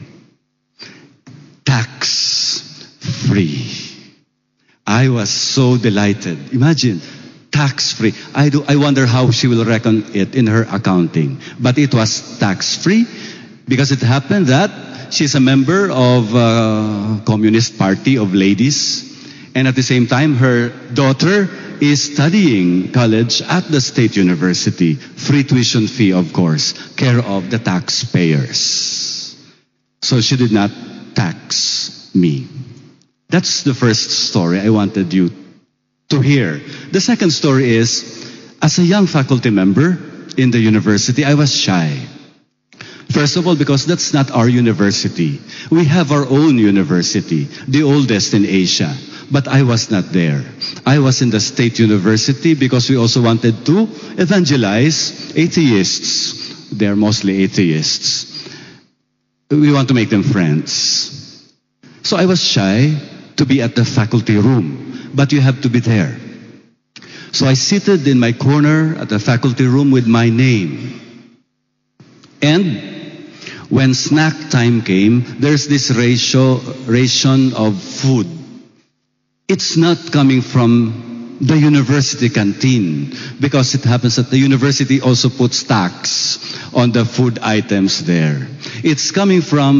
Tax-free. I was so delighted. Imagine, tax-free. I do. I wonder how she will reckon it in her accounting. But it was tax-free because it happened that she's a member of a Communist Party of Ladies. And at the same time, her daughter is studying college at the state university. Free tuition fee, of course, care of the taxpayers. So she did not tax me. That's the first story I wanted you to hear. The second story is, as a young faculty member in the university, I was shy. First of all, because that's not our university. We have our own university, the oldest in Asia. But I was not there. I was in the state university because we also wanted to evangelize atheists. They're mostly atheists. We want to make them friends. So I was shy to be at the faculty room, but you have to be there. So I seated in my corner at the faculty room with my name. And when snack time came, there's this ratio, ration of food. It's not coming from the university canteen because it happens that the university also puts tax on the food items there. It's coming from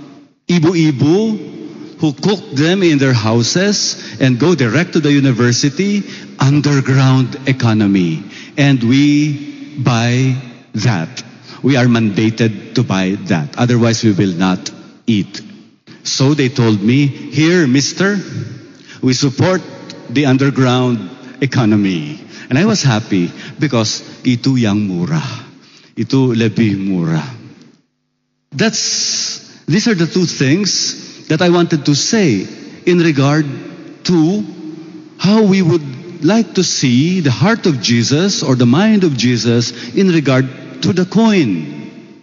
ibu-ibu who cook them in their houses and go direct to the university, underground economy. And we buy that. We are mandated to buy that. Otherwise, we will not eat. So they told me, here, mister, we support the underground economy. And I was happy because itu yang murah. Itu lebih murah. That's, these are the two things that I wanted to say in regard to how we would like to see the heart of Jesus or the mind of Jesus in regard to the coin.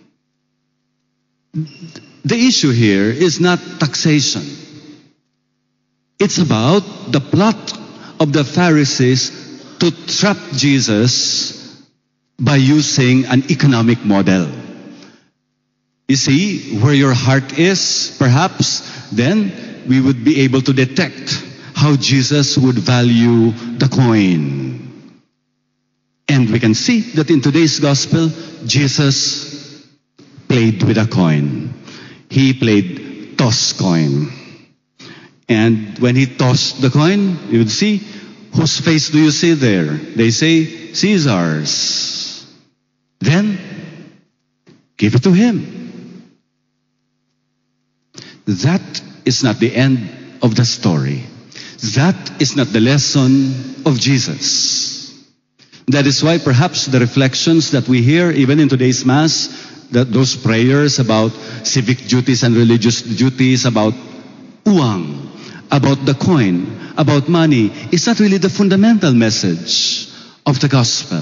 The issue here is not taxation. It's about the plot of the Pharisees to trap Jesus by using an economic model. You see, where your heart is, perhaps, then we would be able to detect how Jesus would value the coin. And we can see that in today's gospel, Jesus played with a coin. He played toss coin. And when he tossed the coin, you would see, whose face do you see there? They say, Caesar's. Then, give it to him. That is not the end of the story. That is not the lesson of Jesus. That is why perhaps the reflections that we hear even in today's Mass, that those prayers about civic duties and religious duties, about uang, about the coin, about money, is not really the fundamental message of the gospel.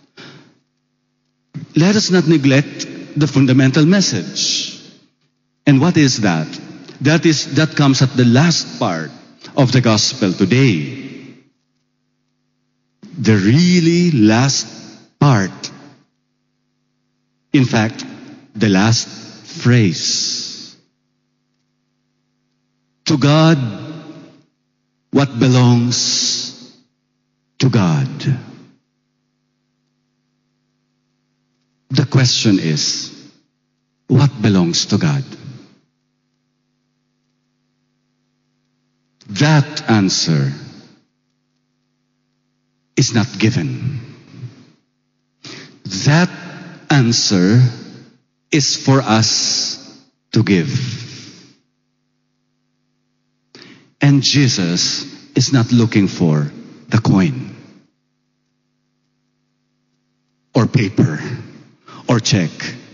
Let us not neglect the fundamental message. And what is that? That is, that comes at the last part of the gospel today. The really last part. In fact, the last phrase. To God, what belongs to God. The question is, what belongs to God? That answer is not given. That answer is for us to give. And Jesus is not looking for the coin or paper or check.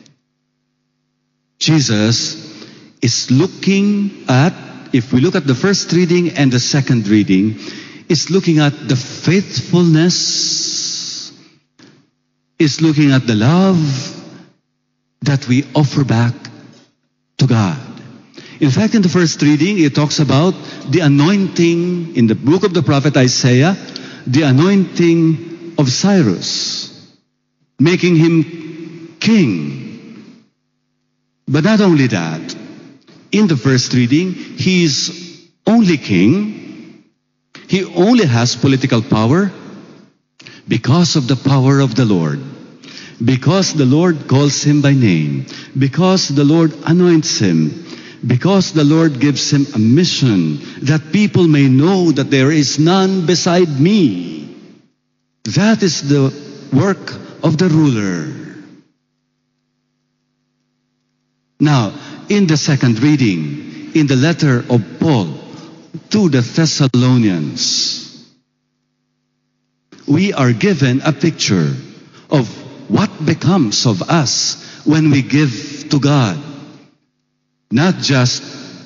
Jesus is looking at, if we look at the first reading and the second reading, is looking at the faithfulness, is looking at the love that we offer back to God. In fact, in the first reading, it talks about the anointing in the book of the prophet Isaiah, the anointing of Cyrus, making him king. But not only that, in the first reading, he is only king. He only has political power because of the power of the Lord. Because the Lord calls him by name. Because the Lord anoints him. Because the Lord gives him a mission that people may know that there is none beside me. That is the work of the ruler. Now, in the second reading, in the letter of Paul to the Thessalonians, we are given a picture of what becomes of us when we give to God. Not just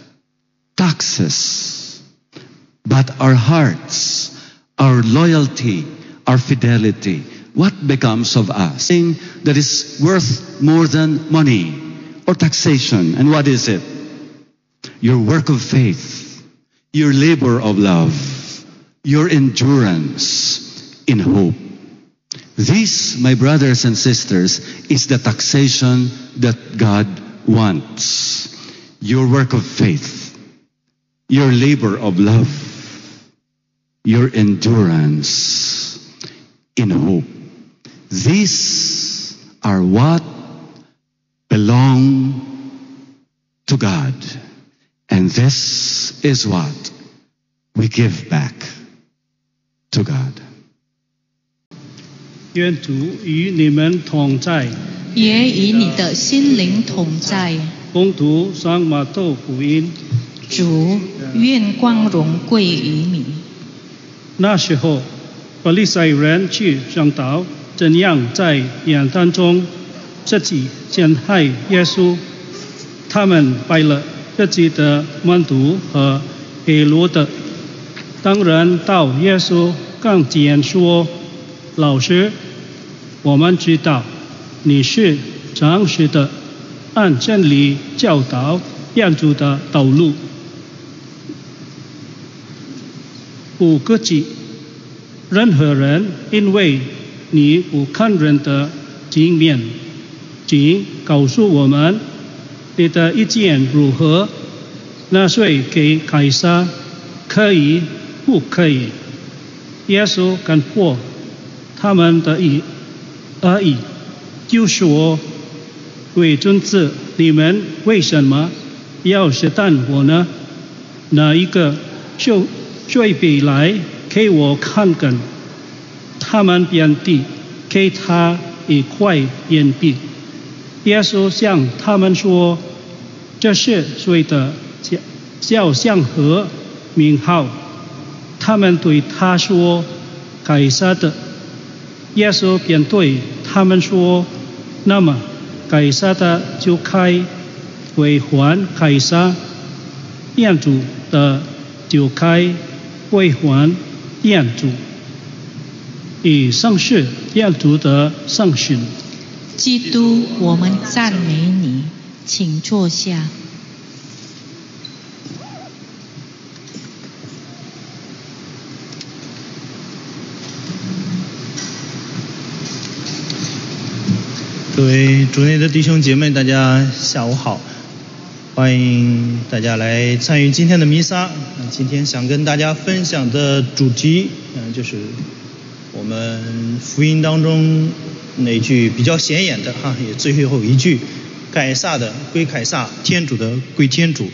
taxes, but our hearts, our loyalty, our fidelity. What becomes of us? Something that is worth more than money or taxation. And what is it? Your work of faith, your labor of love, your endurance in hope. This, my brothers and sisters, is the taxation that God wants. Your work of faith, your labor of love, your endurance in hope. These are what belong to God. And this is what we give back to God. 愿主与你们同在。 也与你的心灵同在。 恭读圣马窦福音。 主，愿光荣归于你。 那时候，法利赛人去商讨怎样在言谈中自己陷害耶稣。他们拜了自己的门徒和黑罗德。当人到耶稣跟前说：“老师，我们知道你是诚实的，按真理教导养主的道路，不客气。任何人因为你不看人的经面，请告诉我们你的意见如何？纳税给凯撒可以不可以？”耶稣看破他们的意而已，就说：“为尊子，你们为什么要试探我呢？哪一个就最比来给我看看？”他们便递给他一块硬币。耶稣向他们说：“这是谁的肖像和名号？” 他们对他说：“凯撒的。”耶稣便对他们说：“那么，凯撒的就该归还凯撒，天主的就该归还天主。”以上是天主的圣训。 基督，我们赞美你，请坐下。 各位主内的弟兄姐妹，大家下午好，欢迎大家来参与今天的弥撒。今天想跟大家分享的主题，嗯，就是我们福音当中那句比较显眼的哈，也最后一句：凯撒的归凯撒，天主的归天主。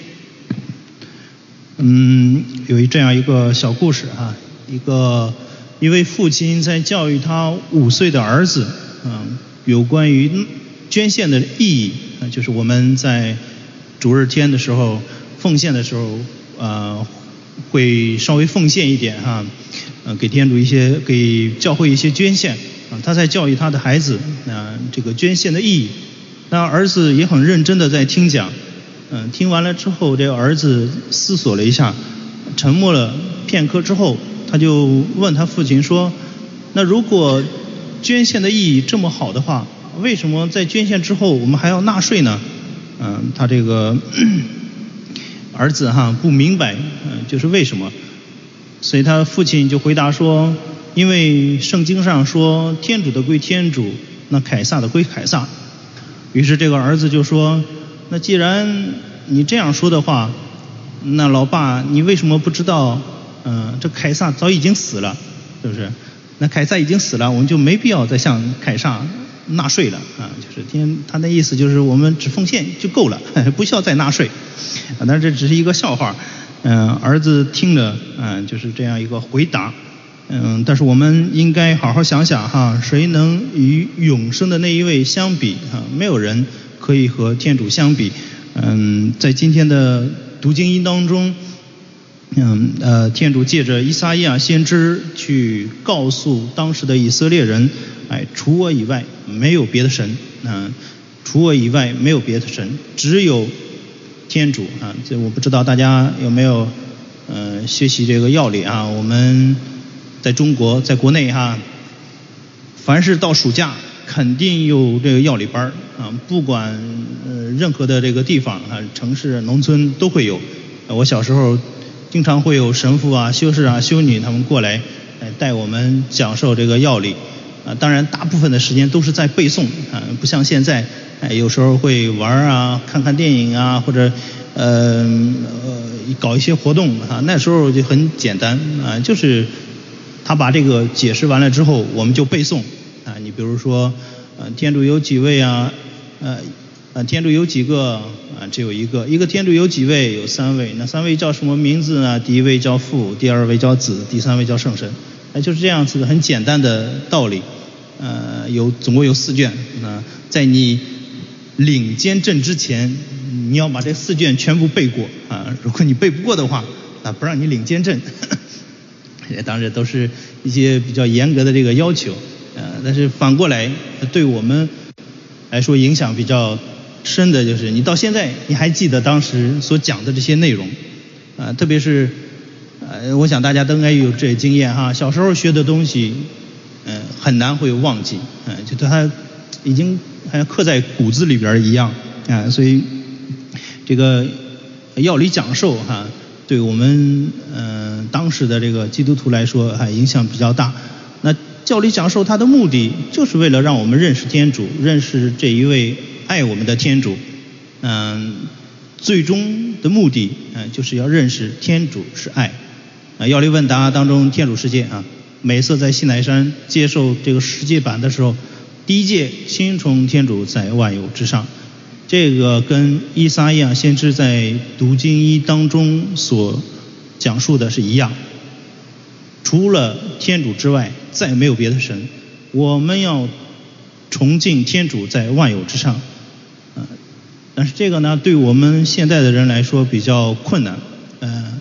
嗯，有一这样一个小故事哈，一个一位父亲在教育他五岁的儿子，嗯。有关于捐献的意义，就是我们在主日天的时候奉献的时候，呃，会稍微奉献一点哈，呃，给天主一些，给教会一些捐献啊。他在教育他的孩子，啊，这个捐献的意义。那儿子也很认真的在听讲，嗯、呃，听完了之后，这个儿子思索了一下，沉默了片刻之后，他就问他父亲说：“那如果捐献的意义这么好的话，为什么在捐献之后我们还要纳税呢？”嗯、呃，他这个儿子哈不明白，嗯、呃，就是为什么？所以他父亲就回答说：“因为圣经上说天主的归天主，那凯撒的归凯撒。”于是这个儿子就说：“那既然你这样说的话，那老爸你为什么不知道？嗯、呃，这凯撒早已经死了，是不是？那凯撒已经死了，我们就没必要再向凯撒纳税了啊！就是天，他的意思就是我们只奉献就够了，不需要再纳税。啊，但是这只是一个笑话。嗯、呃，儿子听着，嗯、呃，就是这样一个回答。嗯、呃，但是我们应该好好想想哈，谁能与永生的那一位相比啊？没有人可以和天主相比。嗯、呃，在今天的读经音当中。嗯呃，天主借着依撒意亚先知去告诉当时的以色列人，哎，除我以外没有别的神，嗯、呃，除我以外没有别的神，只有天主啊。这我不知道大家有没有呃学习这个要理啊？我们在中国，在国内哈，凡是到暑假肯定有这个要理班啊，不管呃任何的这个地方啊，城市、农村都会有。呃、我小时候。经常会有神父啊、修士啊、修女他们过来，哎，带我们讲授这个要理，啊，当然大部分的时间都是在背诵啊，不像现在，哎，有时候会玩啊、看看电影啊，或者呃呃搞一些活动啊，那时候就很简单啊，就是他把这个解释完了之后，我们就背诵啊，你比如说，呃，天主有几位啊，呃。啊，天主有几个啊？只有一个。一个天主有几位？有三位。那三位叫什么名字呢？第一位叫父，第二位叫子，第三位叫圣神。哎，就是这样子的很简单的道理。呃，有总共有四卷。啊，在你领监证之前，你要把这四卷全部背过啊。如果你背不过的话，啊，不让你领监证。当然都是一些比较严格的这个要求。呃，但是反过来对我们来说影响比较深的就是你到现在你还记得当时所讲的这些内容啊、呃，特别是呃，我想大家都应该有这经验哈，小时候学的东西，嗯、呃，很难会忘记，嗯、呃，就它已经好像刻在骨子里边一样啊、呃，所以这个要理讲授哈，对我们嗯、呃、当时的这个基督徒来说还影响比较大。那教理讲授它的目的就是为了让我们认识天主，认识这一位爱我们的天主，嗯、呃，最终的目的，嗯、呃，就是要认识天主是爱。啊，要理问答当中天主世界啊，每次在西乃山接受这个世界版的时候，第一届新崇天主在万有之上，这个跟依撒意亚先知在读经一当中所讲述的是一样。除了天主之外，再没有别的神。我们要崇敬天主在万有之上，啊、呃，但是这个呢，对我们现在的人来说比较困难，呃，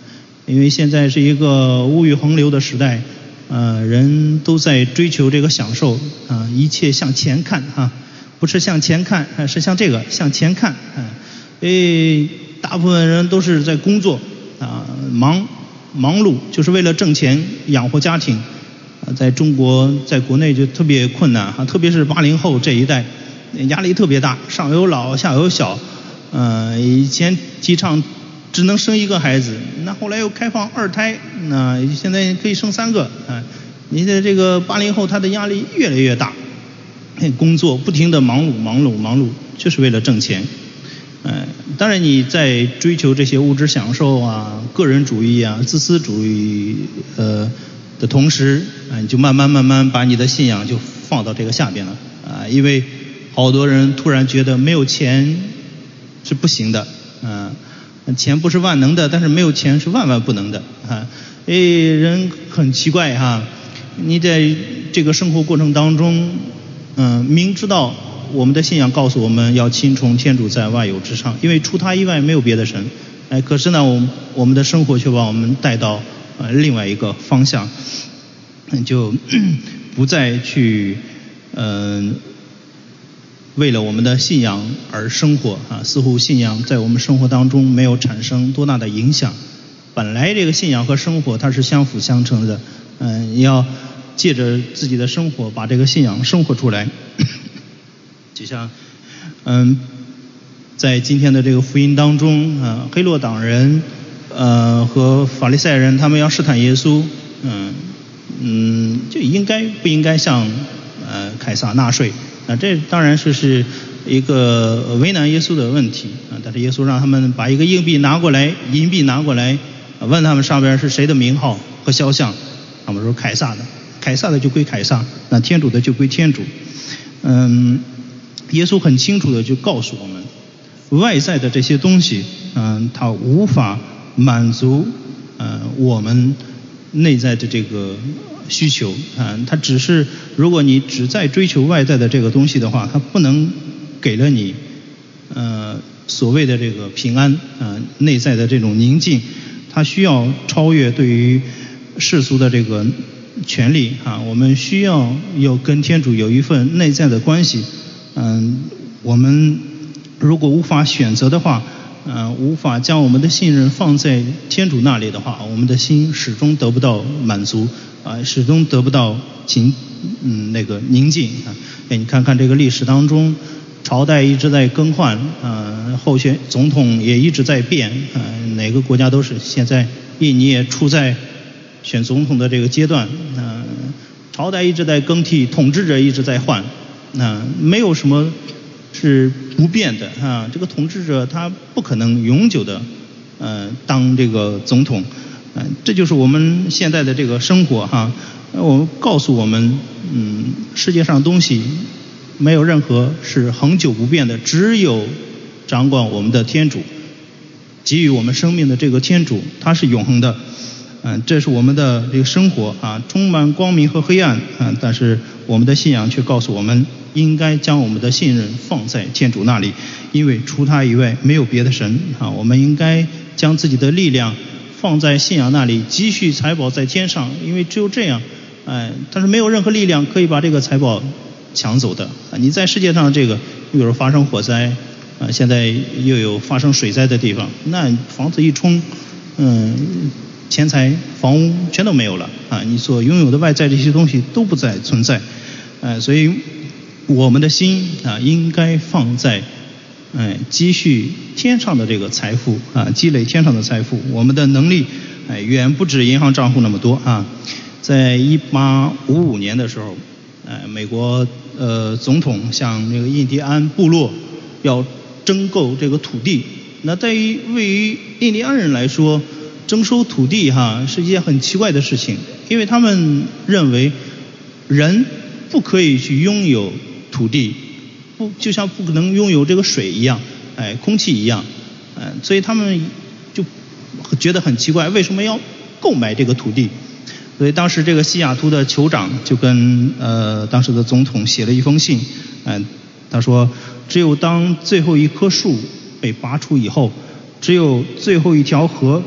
因为现在是一个物欲横流的时代，呃，人都在追求这个享受啊、呃，一切向前看啊，不是向前看，呃、是向这个向前看啊。因为大部分人都是在工作啊、呃，忙忙碌，就是为了挣钱养活家庭。啊，在中国，在国内就特别困难啊，特别是八零后这一代，压力特别大，上有老下有小。呃，以前提倡只能生一个孩子，那后来又开放二胎，那现在可以生三个啊。你的这个八零后，他的压力越来越大，工作不停的忙碌忙碌忙碌，就是为了挣钱。呃，当然你在追求这些物质享受啊、个人主义啊、自私主义呃的同时，啊，你就慢慢慢慢把你的信仰就放到这个下边了啊，因为好多人突然觉得没有钱是不行的，啊，钱不是万能的，但是没有钱是万万不能的啊。哎，人很奇怪哈、啊，你在这个生活过程当中，嗯、呃，明知道我们的信仰告诉我们要亲从天主在万有之上，因为除他以外没有别的神，哎，可是呢，我们我们的生活却把我们带到呃另外一个方向，就不再去嗯、呃、为了我们的信仰而生活啊，似乎信仰在我们生活当中没有产生多大的影响。本来这个信仰和生活它是相辅相成的，嗯、呃，你要借着自己的生活把这个信仰生活出来。就像嗯，在今天的这个福音当中啊、呃，黑落党人呃和法利赛人他们要试探耶稣，嗯嗯，就应该不应该向呃凯撒纳税？那这当然是是一个为难耶稣的问题啊。但是耶稣让他们把一个硬币拿过来，银币拿过来，问他们上边是谁的名号和肖像，他们说凯撒的，凯撒的就归凯撒，那天主的就归天主。嗯，耶稣很清楚的就告诉我们，外在的这些东西，嗯，它无法满足呃我们内在的这个需求啊，它只是如果你只在追求外在的这个东西的话，它不能给了你呃所谓的这个平安啊，内在的这种宁静，它需要超越对于世俗的这个权利啊，我们需要有跟天主有一份内在的关系。嗯，我们如果无法选择的话，呃，无法将我们的信任放在天主那里的话，我们的心始终得不到满足啊、呃，始终得不到情嗯那个宁静啊。哎，你看看这个历史当中，朝代一直在更换，呃，候选总统也一直在变，呃，哪个国家都是。现在印尼也处在选总统的这个阶段，呃，朝代一直在更替，统治者一直在换。那没有什么是不变的啊，这个统治者他不可能永久的呃当这个总统，呃，这就是我们现在的这个生活哈。我告诉我们，嗯，世界上东西没有任何是恒久不变的，只有掌管我们的天主，给予我们生命的这个天主，他是永恒的。嗯，这是我们的这个生活啊，充满光明和黑暗啊，但是我们的信仰却告诉我们，应该将我们的信任放在天主那里，因为除他以外没有别的神啊。我们应该将自己的力量放在信仰那里，积蓄财宝在天上，因为只有这样，哎，但是没有任何力量可以把这个财宝抢走的啊。你在世界上这个，比如发生火灾啊，现在又有发生水灾的地方，那房子一冲，嗯。钱财、房屋全都没有了啊！你所拥有的外在这些东西都不再存在，呃，所以我们的心啊，应该放在，哎、呃，积蓄天上的这个财富啊，积累天上的财富。我们的能力，哎、呃，远不止银行账户那么多啊！在一八五五年的时候，呃，美国呃总统向这个印第安部落要征购这个土地，那对于位于印第安人来说，征收土地哈是一件很奇怪的事情，因为他们认为人不可以去拥有土地，不就像不可能拥有这个水一样，哎，空气一样，哎，所以他们就觉得很奇怪，为什么要购买这个土地？所以当时这个西雅图的酋长就跟呃当时的总统写了一封信，哎，他说只有当最后一棵树被拔除以后，只有最后一条河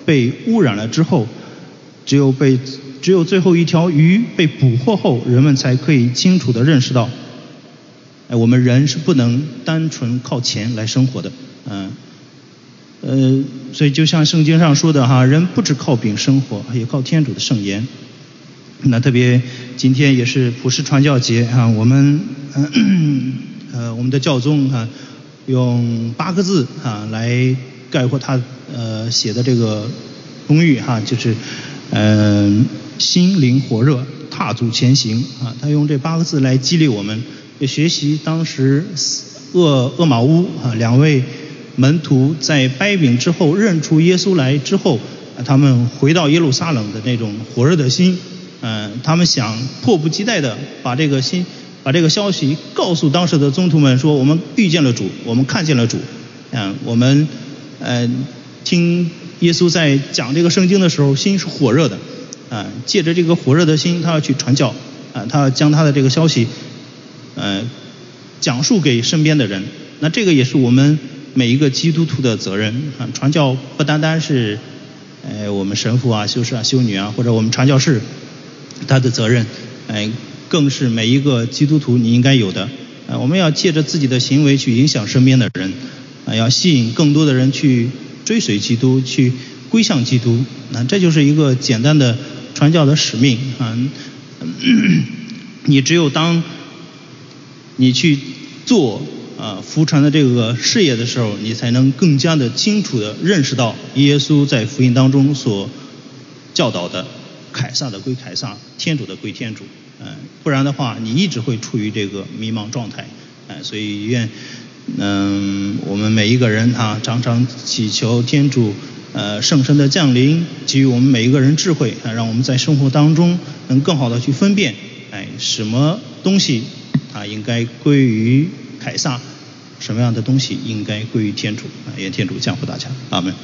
被污染了之后，只有被只有最后一条鱼被捕获后，人们才可以清楚地认识到，哎，我们人是不能单纯靠钱来生活的，嗯，呃，所以就像圣经上说的哈，人不只靠饼生活，也靠天主的圣言。那特别今天也是普世传教节啊，我们呃呃我们的教宗啊，用八个字啊来概括他呃写的这个公寓哈、啊，就是嗯、呃、心灵火热，踏足前行啊，他用这八个字来激励我们，也学习当时厄厄玛乌啊两位门徒在掰饼之后认出耶稣来之后，啊、他们回到耶路撒冷的那种火热的心。嗯，他们想迫不及待地把这个新把这个消息告诉当时的宗徒们，说我们遇见了主，我们看见了主。嗯，我们呃听耶稣在讲这个圣经的时候，心是火热的。啊，借着这个火热的心，他要去传教。啊，他要将他的这个消息，呃，讲述给身边的人。那这个也是我们每一个基督徒的责任。啊，传教不单单是呃我们神父啊、修士啊、修女啊，或者我们传教士。他的责任，哎，更是每一个基督徒你应该有的。啊，我们要借着自己的行为去影响身边的人，啊，要吸引更多的人去追随基督，去归向基督。那这就是一个简单的传教的使命啊。你只有当你去做啊福传的这个事业的时候，你才能更加的清楚的认识到耶稣在福音当中所教导的。凯撒的归凯撒，天主的归天主，嗯、呃，不然的话，你一直会处于这个迷茫状态，哎、呃，所以愿，嗯、呃，我们每一个人啊，常常祈求天主，呃，圣神的降临，给予我们每一个人智慧，啊，让我们在生活当中能更好的去分辨，哎，什么东西啊应该归于凯撒，什么样的东西应该归于天主，啊，愿天主降福大家，阿们。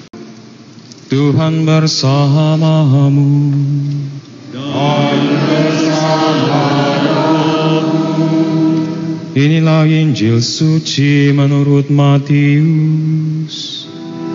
Tuhan bersamamu dan bersamamu. Inilah Injil suci menurut Matius.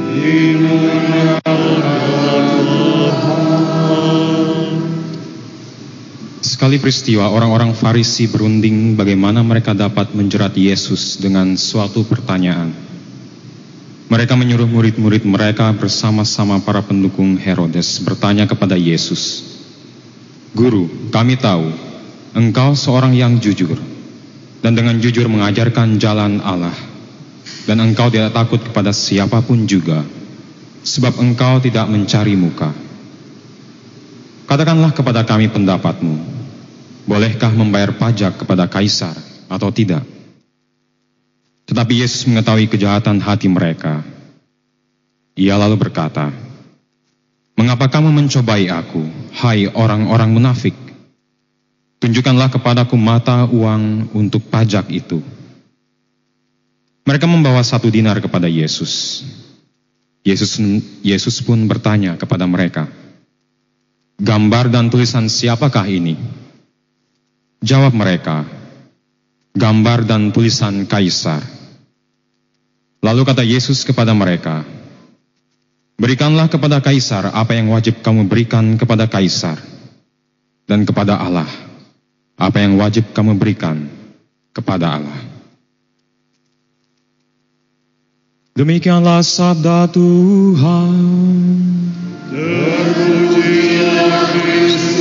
Sekali peristiwa orang-orang Farisi berunding bagaimana mereka dapat menjerat Yesus dengan suatu pertanyaan. Mereka menyuruh murid-murid mereka bersama-sama para pendukung Herodes bertanya kepada Yesus, "Guru, kami tahu engkau seorang yang jujur dan dengan jujur mengajarkan jalan Allah, dan engkau tidak takut kepada siapapun juga, sebab engkau tidak mencari muka. Katakanlah kepada kami pendapatmu, bolehkah membayar pajak kepada Kaisar atau tidak?" Tetapi Yesus mengetahui kejahatan hati mereka. Ia lalu berkata, "Mengapa kamu mencobai aku, hai orang-orang munafik? Tunjukkanlah kepadaku mata uang untuk pajak itu." Mereka membawa satu dinar kepada Yesus. Yesus, Yesus pun bertanya kepada mereka, "Gambar dan tulisan siapakah ini?" Jawab mereka, "Gambar dan tulisan Kaisar." Lalu kata Yesus kepada mereka, "Berikanlah kepada Kaisar apa yang wajib kamu berikan kepada Kaisar, dan kepada Allah apa yang wajib kamu berikan kepada Allah." Demikianlah sabda Tuhan. Terpujilah Kristus.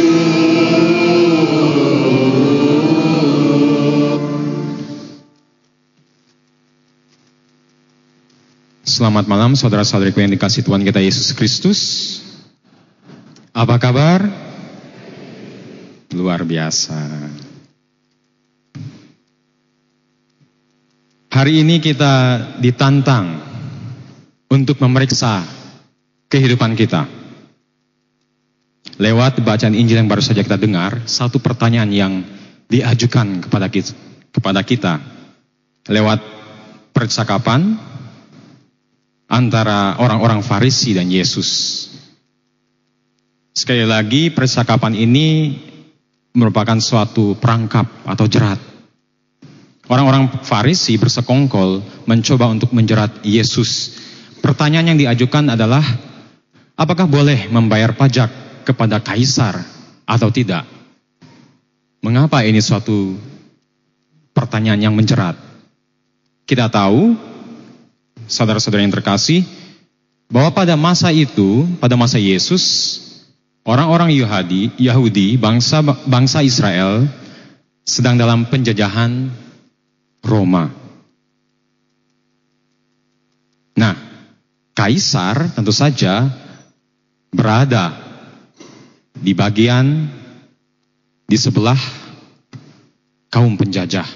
Selamat malam saudara-saudariku yang dikasihi Tuhan kita Yesus Kristus. Apa kabar? Luar biasa. Hari ini kita ditantang untuk memeriksa kehidupan kita. Lewat bacaan Injil yang baru saja kita dengar, satu pertanyaan yang diajukan kepada kita, kepada kita lewat percakapan antara orang-orang Farisi dan Yesus. Sekali lagi, percakapan ini merupakan suatu perangkap atau jerat. Orang-orang Farisi bersekongkol mencoba untuk menjerat Yesus. Pertanyaan yang diajukan adalah, Apakah boleh membayar pajak kepada kaisar atau tidak? Mengapa ini suatu pertanyaan yang menjerat? Kita tahu, saudara-saudara yang terkasih, bahwa pada masa itu, pada masa Yesus, orang-orang Yahudi, Yahudi bangsa bangsa Israel sedang dalam penjajahan Roma. Nah, kaisar tentu saja berada di bagian di sebelah kaum penjajah.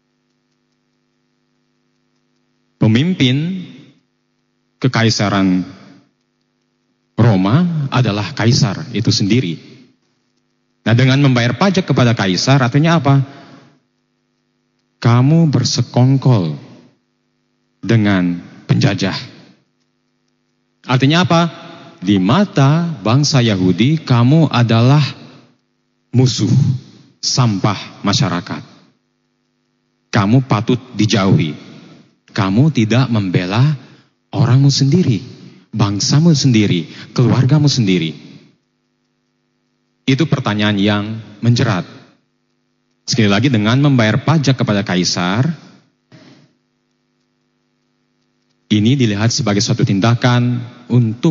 Pemimpin kekaisaran Roma adalah kaisar itu sendiri. Nah, dengan membayar pajak kepada kaisar artinya apa? Kamu bersekongkol dengan penjajah. Artinya apa? Di mata bangsa Yahudi, kamu adalah musuh, sampah masyarakat. Kamu patut dijauhi. Kamu tidak membela orangmu sendiri, bangsamu sendiri, keluargamu sendiri. Itu pertanyaan yang menjerat. Sekali lagi, dengan membayar pajak kepada kaisar, ini dilihat sebagai suatu tindakan untuk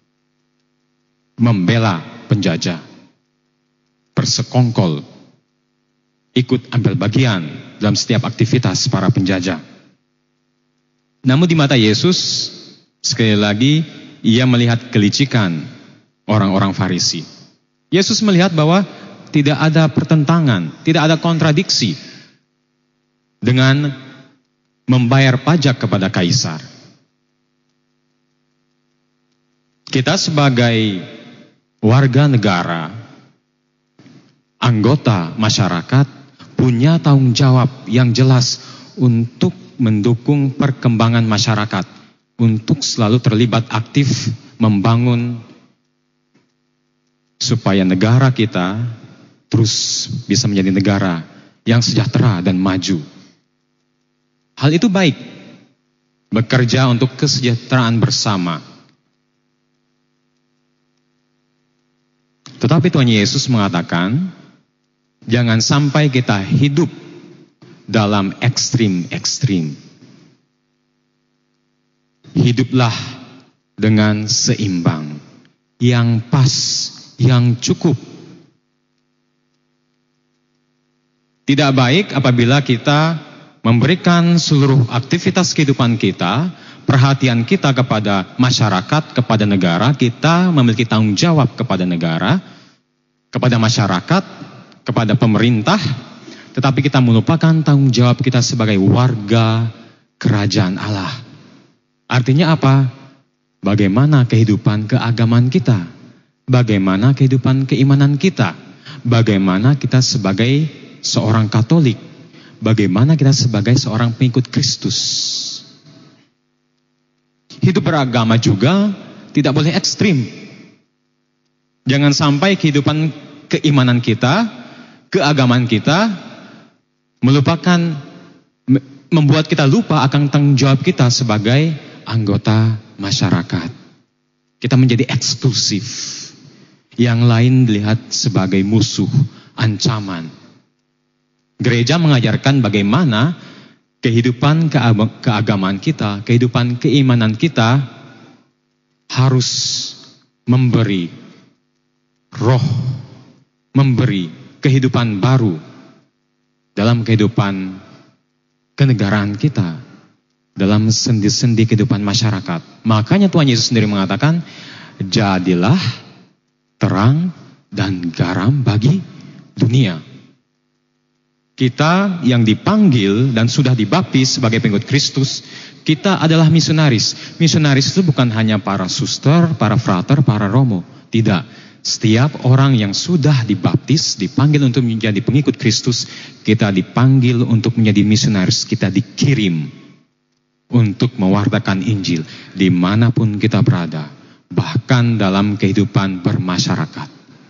membela penjajah, bersekongkol, ikut ambil bagian dalam setiap aktivitas para penjajah. Namun di mata Yesus, sekali lagi, ia melihat kelicikan orang-orang Farisi. Yesus melihat bahwa tidak ada pertentangan, tidak ada kontradiksi dengan membayar pajak kepada kaisar. Kita sebagai warga negara, anggota masyarakat, punya tanggung jawab yang jelas untuk mendukung perkembangan masyarakat, untuk selalu terlibat aktif membangun supaya negara kita terus bisa menjadi negara yang sejahtera dan maju. Hal itu baik, bekerja untuk kesejahteraan bersama. Tetapi Tuhan Yesus mengatakan, jangan sampai kita hidup dalam ekstrim-ekstrim. Hiduplah dengan seimbang, yang pas, yang cukup. Tidak baik apabila kita memberikan seluruh aktivitas kehidupan kita, perhatian kita kepada masyarakat, kepada negara, kita memiliki tanggung jawab kepada negara, kepada masyarakat, kepada pemerintah, tetapi kita melupakan tanggung jawab kita sebagai warga kerajaan Allah. Artinya apa? Bagaimana kehidupan keagamaan kita? Bagaimana kehidupan keimanan kita? Bagaimana kita sebagai seorang Katolik? Bagaimana kita sebagai seorang pengikut Kristus? Hidup beragama juga tidak boleh ekstrim. Jangan sampai kehidupan keimanan kita, keagamaan kita melupakan, membuat kita lupa akan tanggung jawab kita sebagai anggota masyarakat. Kita menjadi eksklusif. Yang lain dilihat sebagai musuh, ancaman. Gereja mengajarkan bagaimana kehidupan keagamaan kita, kehidupan keimanan kita harus memberi roh, memberi kehidupan baru dalam kehidupan kenegaraan kita, dalam sendi-sendi kehidupan masyarakat. Makanya Tuhan Yesus sendiri mengatakan, jadilah terang dan garam bagi dunia. Kita yang dipanggil dan sudah dibaptis sebagai pengikut Kristus, kita adalah misionaris. Misionaris itu bukan hanya para suster, para frater, para romo. Tidak. Setiap orang yang sudah dibaptis, dipanggil untuk menjadi pengikut Kristus, kita dipanggil untuk menjadi misionaris. Kita dikirim untuk mewartakan Injil dimanapun kita berada, bahkan dalam kehidupan bermasyarakat.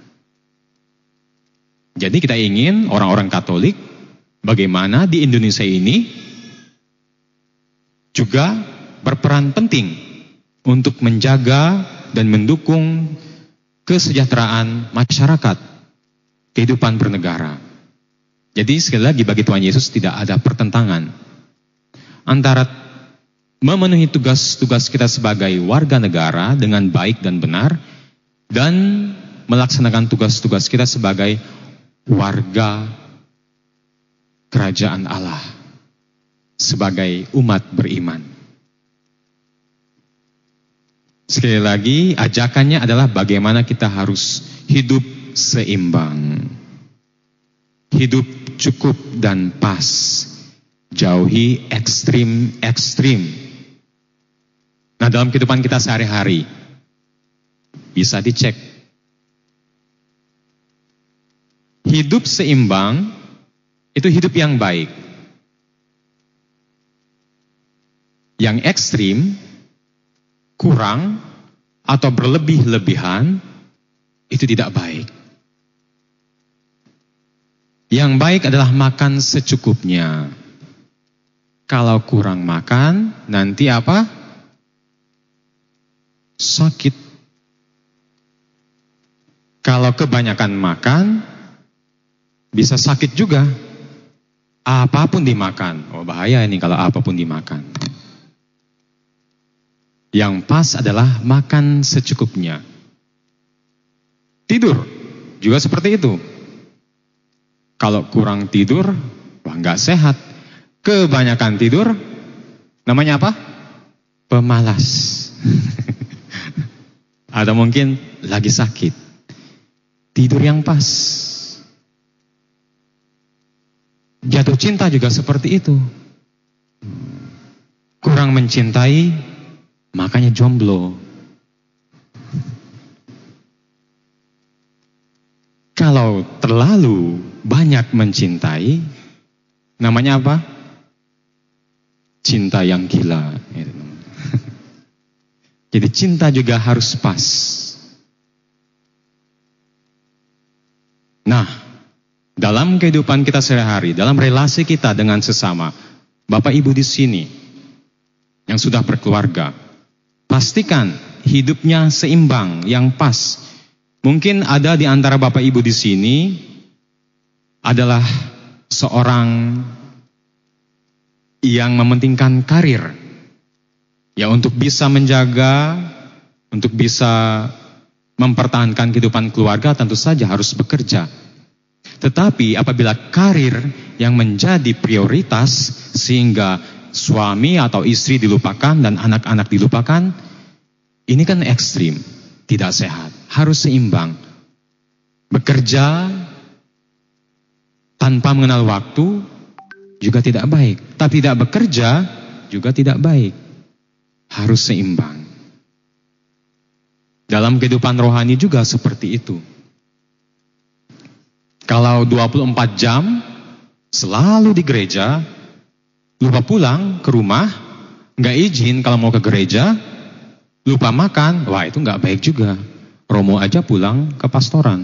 Jadi kita ingin orang-orang Katolik, bagaimana di Indonesia ini juga berperan penting untuk menjaga dan mendukung kesejahteraan masyarakat, kehidupan bernegara. Jadi sekali lagi bagi Tuhan Yesus tidak ada pertentangan antara memenuhi tugas-tugas kita sebagai warga negara dengan baik dan benar dan melaksanakan tugas-tugas kita sebagai warga kerajaan Allah, sebagai umat beriman. Sekali lagi, ajakannya adalah bagaimana kita harus hidup seimbang. Hidup cukup dan pas. Jauhi ekstrim-ekstrim. Nah, dalam kehidupan kita sehari-hari, bisa dicek. Hidup seimbang, itu hidup yang baik. Yang ekstrim, kurang, atau berlebih-lebihan, itu tidak baik. Yang baik adalah makan secukupnya. Kalau kurang makan, nanti apa? Sakit. Kalau kebanyakan makan, bisa sakit juga. Apapun dimakan. Oh, bahaya ini kalau apapun dimakan. Yang pas adalah makan secukupnya. Tidur juga seperti itu. Kalau kurang tidur, wah nggak sehat. Kebanyakan tidur, namanya apa? Pemalas. Atau mungkin lagi sakit. Tidur yang pas. Jatuh cinta juga seperti itu. Kurang mencintai, makanya jomblo. Kalau terlalu banyak mencintai, namanya apa? Cinta yang gila. Jadi cinta juga harus pas. Nah, dalam kehidupan kita sehari-hari, dalam relasi kita dengan sesama, Bapak Ibu di sini yang sudah berkeluarga, pastikan hidupnya seimbang, yang pas. Mungkin ada di antara Bapak Ibu di sini adalah seorang yang mementingkan karir. Ya, untuk bisa menjaga, untuk bisa mempertahankan kehidupan keluarga tentu saja harus bekerja. Tetapi apabila karir yang menjadi prioritas sehingga suami atau istri dilupakan dan anak-anak dilupakan, ini kan ekstrim, tidak sehat. Harus seimbang. Bekerja tanpa mengenal waktu juga tidak baik. Tapi tidak bekerja juga tidak baik. Harus seimbang. Dalam kehidupan rohani juga seperti itu. Kalau dua puluh empat jam selalu di gereja, lupa pulang ke rumah, nggak izin kalau mau ke gereja, lupa makan, wah itu nggak baik juga. Romo aja pulang ke pastoran.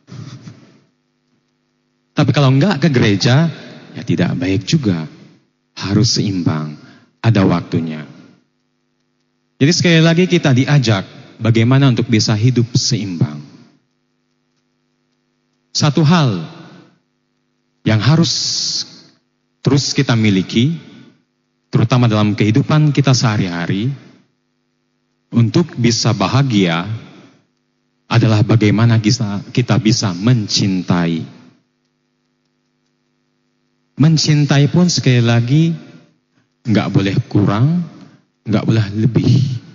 Tapi kalau nggak ke gereja, ya tidak baik juga. Harus seimbang, ada waktunya. Jadi sekali lagi kita diajak bagaimana untuk bisa hidup seimbang. Satu hal yang harus terus kita miliki, terutama dalam kehidupan kita sehari-hari, untuk bisa bahagia adalah bagaimana kita, kita bisa mencintai. Mencintai pun sekali lagi nggak boleh kurang, nggak boleh lebih.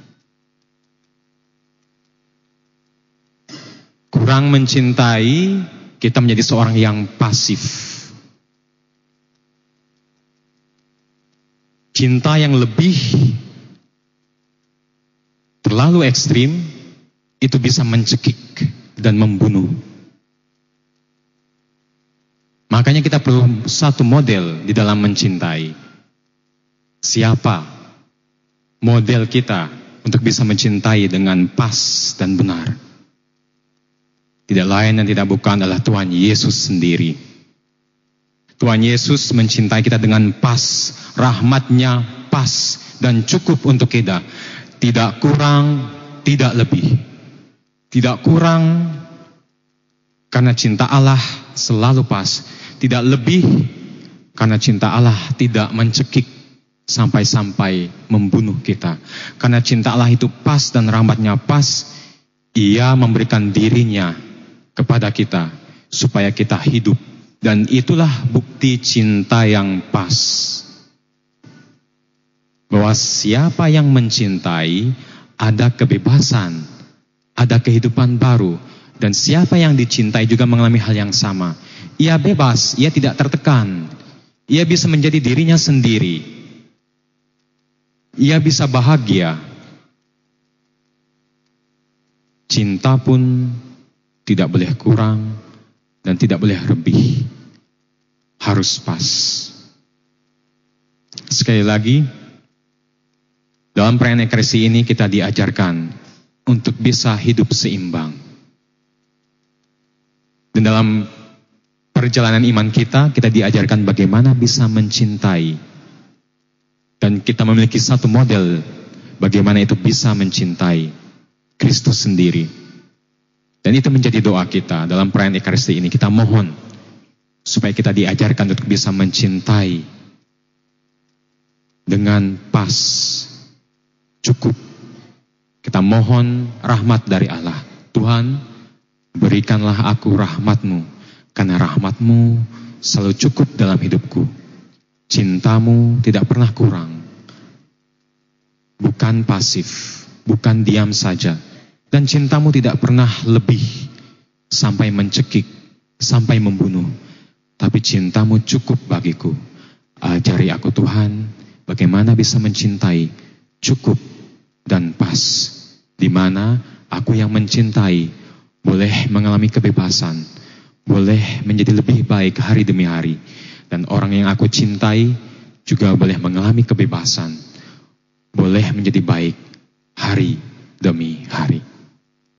Kurang mencintai, kita menjadi seorang yang pasif. Cinta yang lebih terlalu ekstrim, itu bisa mencekik dan membunuh. Makanya kita perlu satu model di dalam mencintai. Siapa model kita untuk bisa mencintai dengan pas dan benar? Tidak lain dan tidak bukan adalah Tuhan Yesus sendiri. Tuhan Yesus mencintai kita dengan pas, rahmatnya pas dan cukup untuk kita. Tidak kurang, tidak lebih. Tidak kurang, karena cinta Allah selalu pas. Tidak lebih, karena cinta Allah tidak mencekik sampai-sampai membunuh kita. Karena cinta Allah itu pas dan rahmatnya pas, Ia memberikan dirinya kepada kita supaya kita hidup. Dan itulah bukti cinta yang pas. Bahwa siapa yang mencintai ada kebebasan, ada kehidupan baru. Dan siapa yang dicintai juga mengalami hal yang sama. Ia bebas, ia tidak tertekan. Ia bisa menjadi dirinya sendiri. Ia bisa bahagia. Cinta pun tidak boleh kurang dan tidak boleh lebih. Harus pas. Sekali lagi, dalam perayaan Ekaristi ini kita diajarkan untuk bisa hidup seimbang. Dan dalam perjalanan iman kita, kita diajarkan bagaimana bisa mencintai. Dan kita memiliki satu model bagaimana itu bisa mencintai Kristus sendiri. Dan itu menjadi doa kita dalam perayaan Ekaristi ini. Kita mohon supaya kita diajarkan untuk bisa mencintai dengan pas, cukup. Kita mohon rahmat dari Allah. Tuhan, berikanlah aku rahmat-Mu, karena rahmat-Mu selalu cukup dalam hidupku. Cinta-Mu tidak pernah kurang. Bukan pasif, bukan diam saja. Dan cinta-Mu tidak pernah lebih sampai mencekik, sampai membunuh. Tapi cinta-Mu cukup bagiku. Ajari aku Tuhan, bagaimana bisa mencintai cukup dan pas. Di mana aku yang mencintai boleh mengalami kebebasan, boleh menjadi lebih baik hari demi hari. Dan orang yang aku cintai juga boleh mengalami kebebasan, boleh menjadi baik hari demi hari.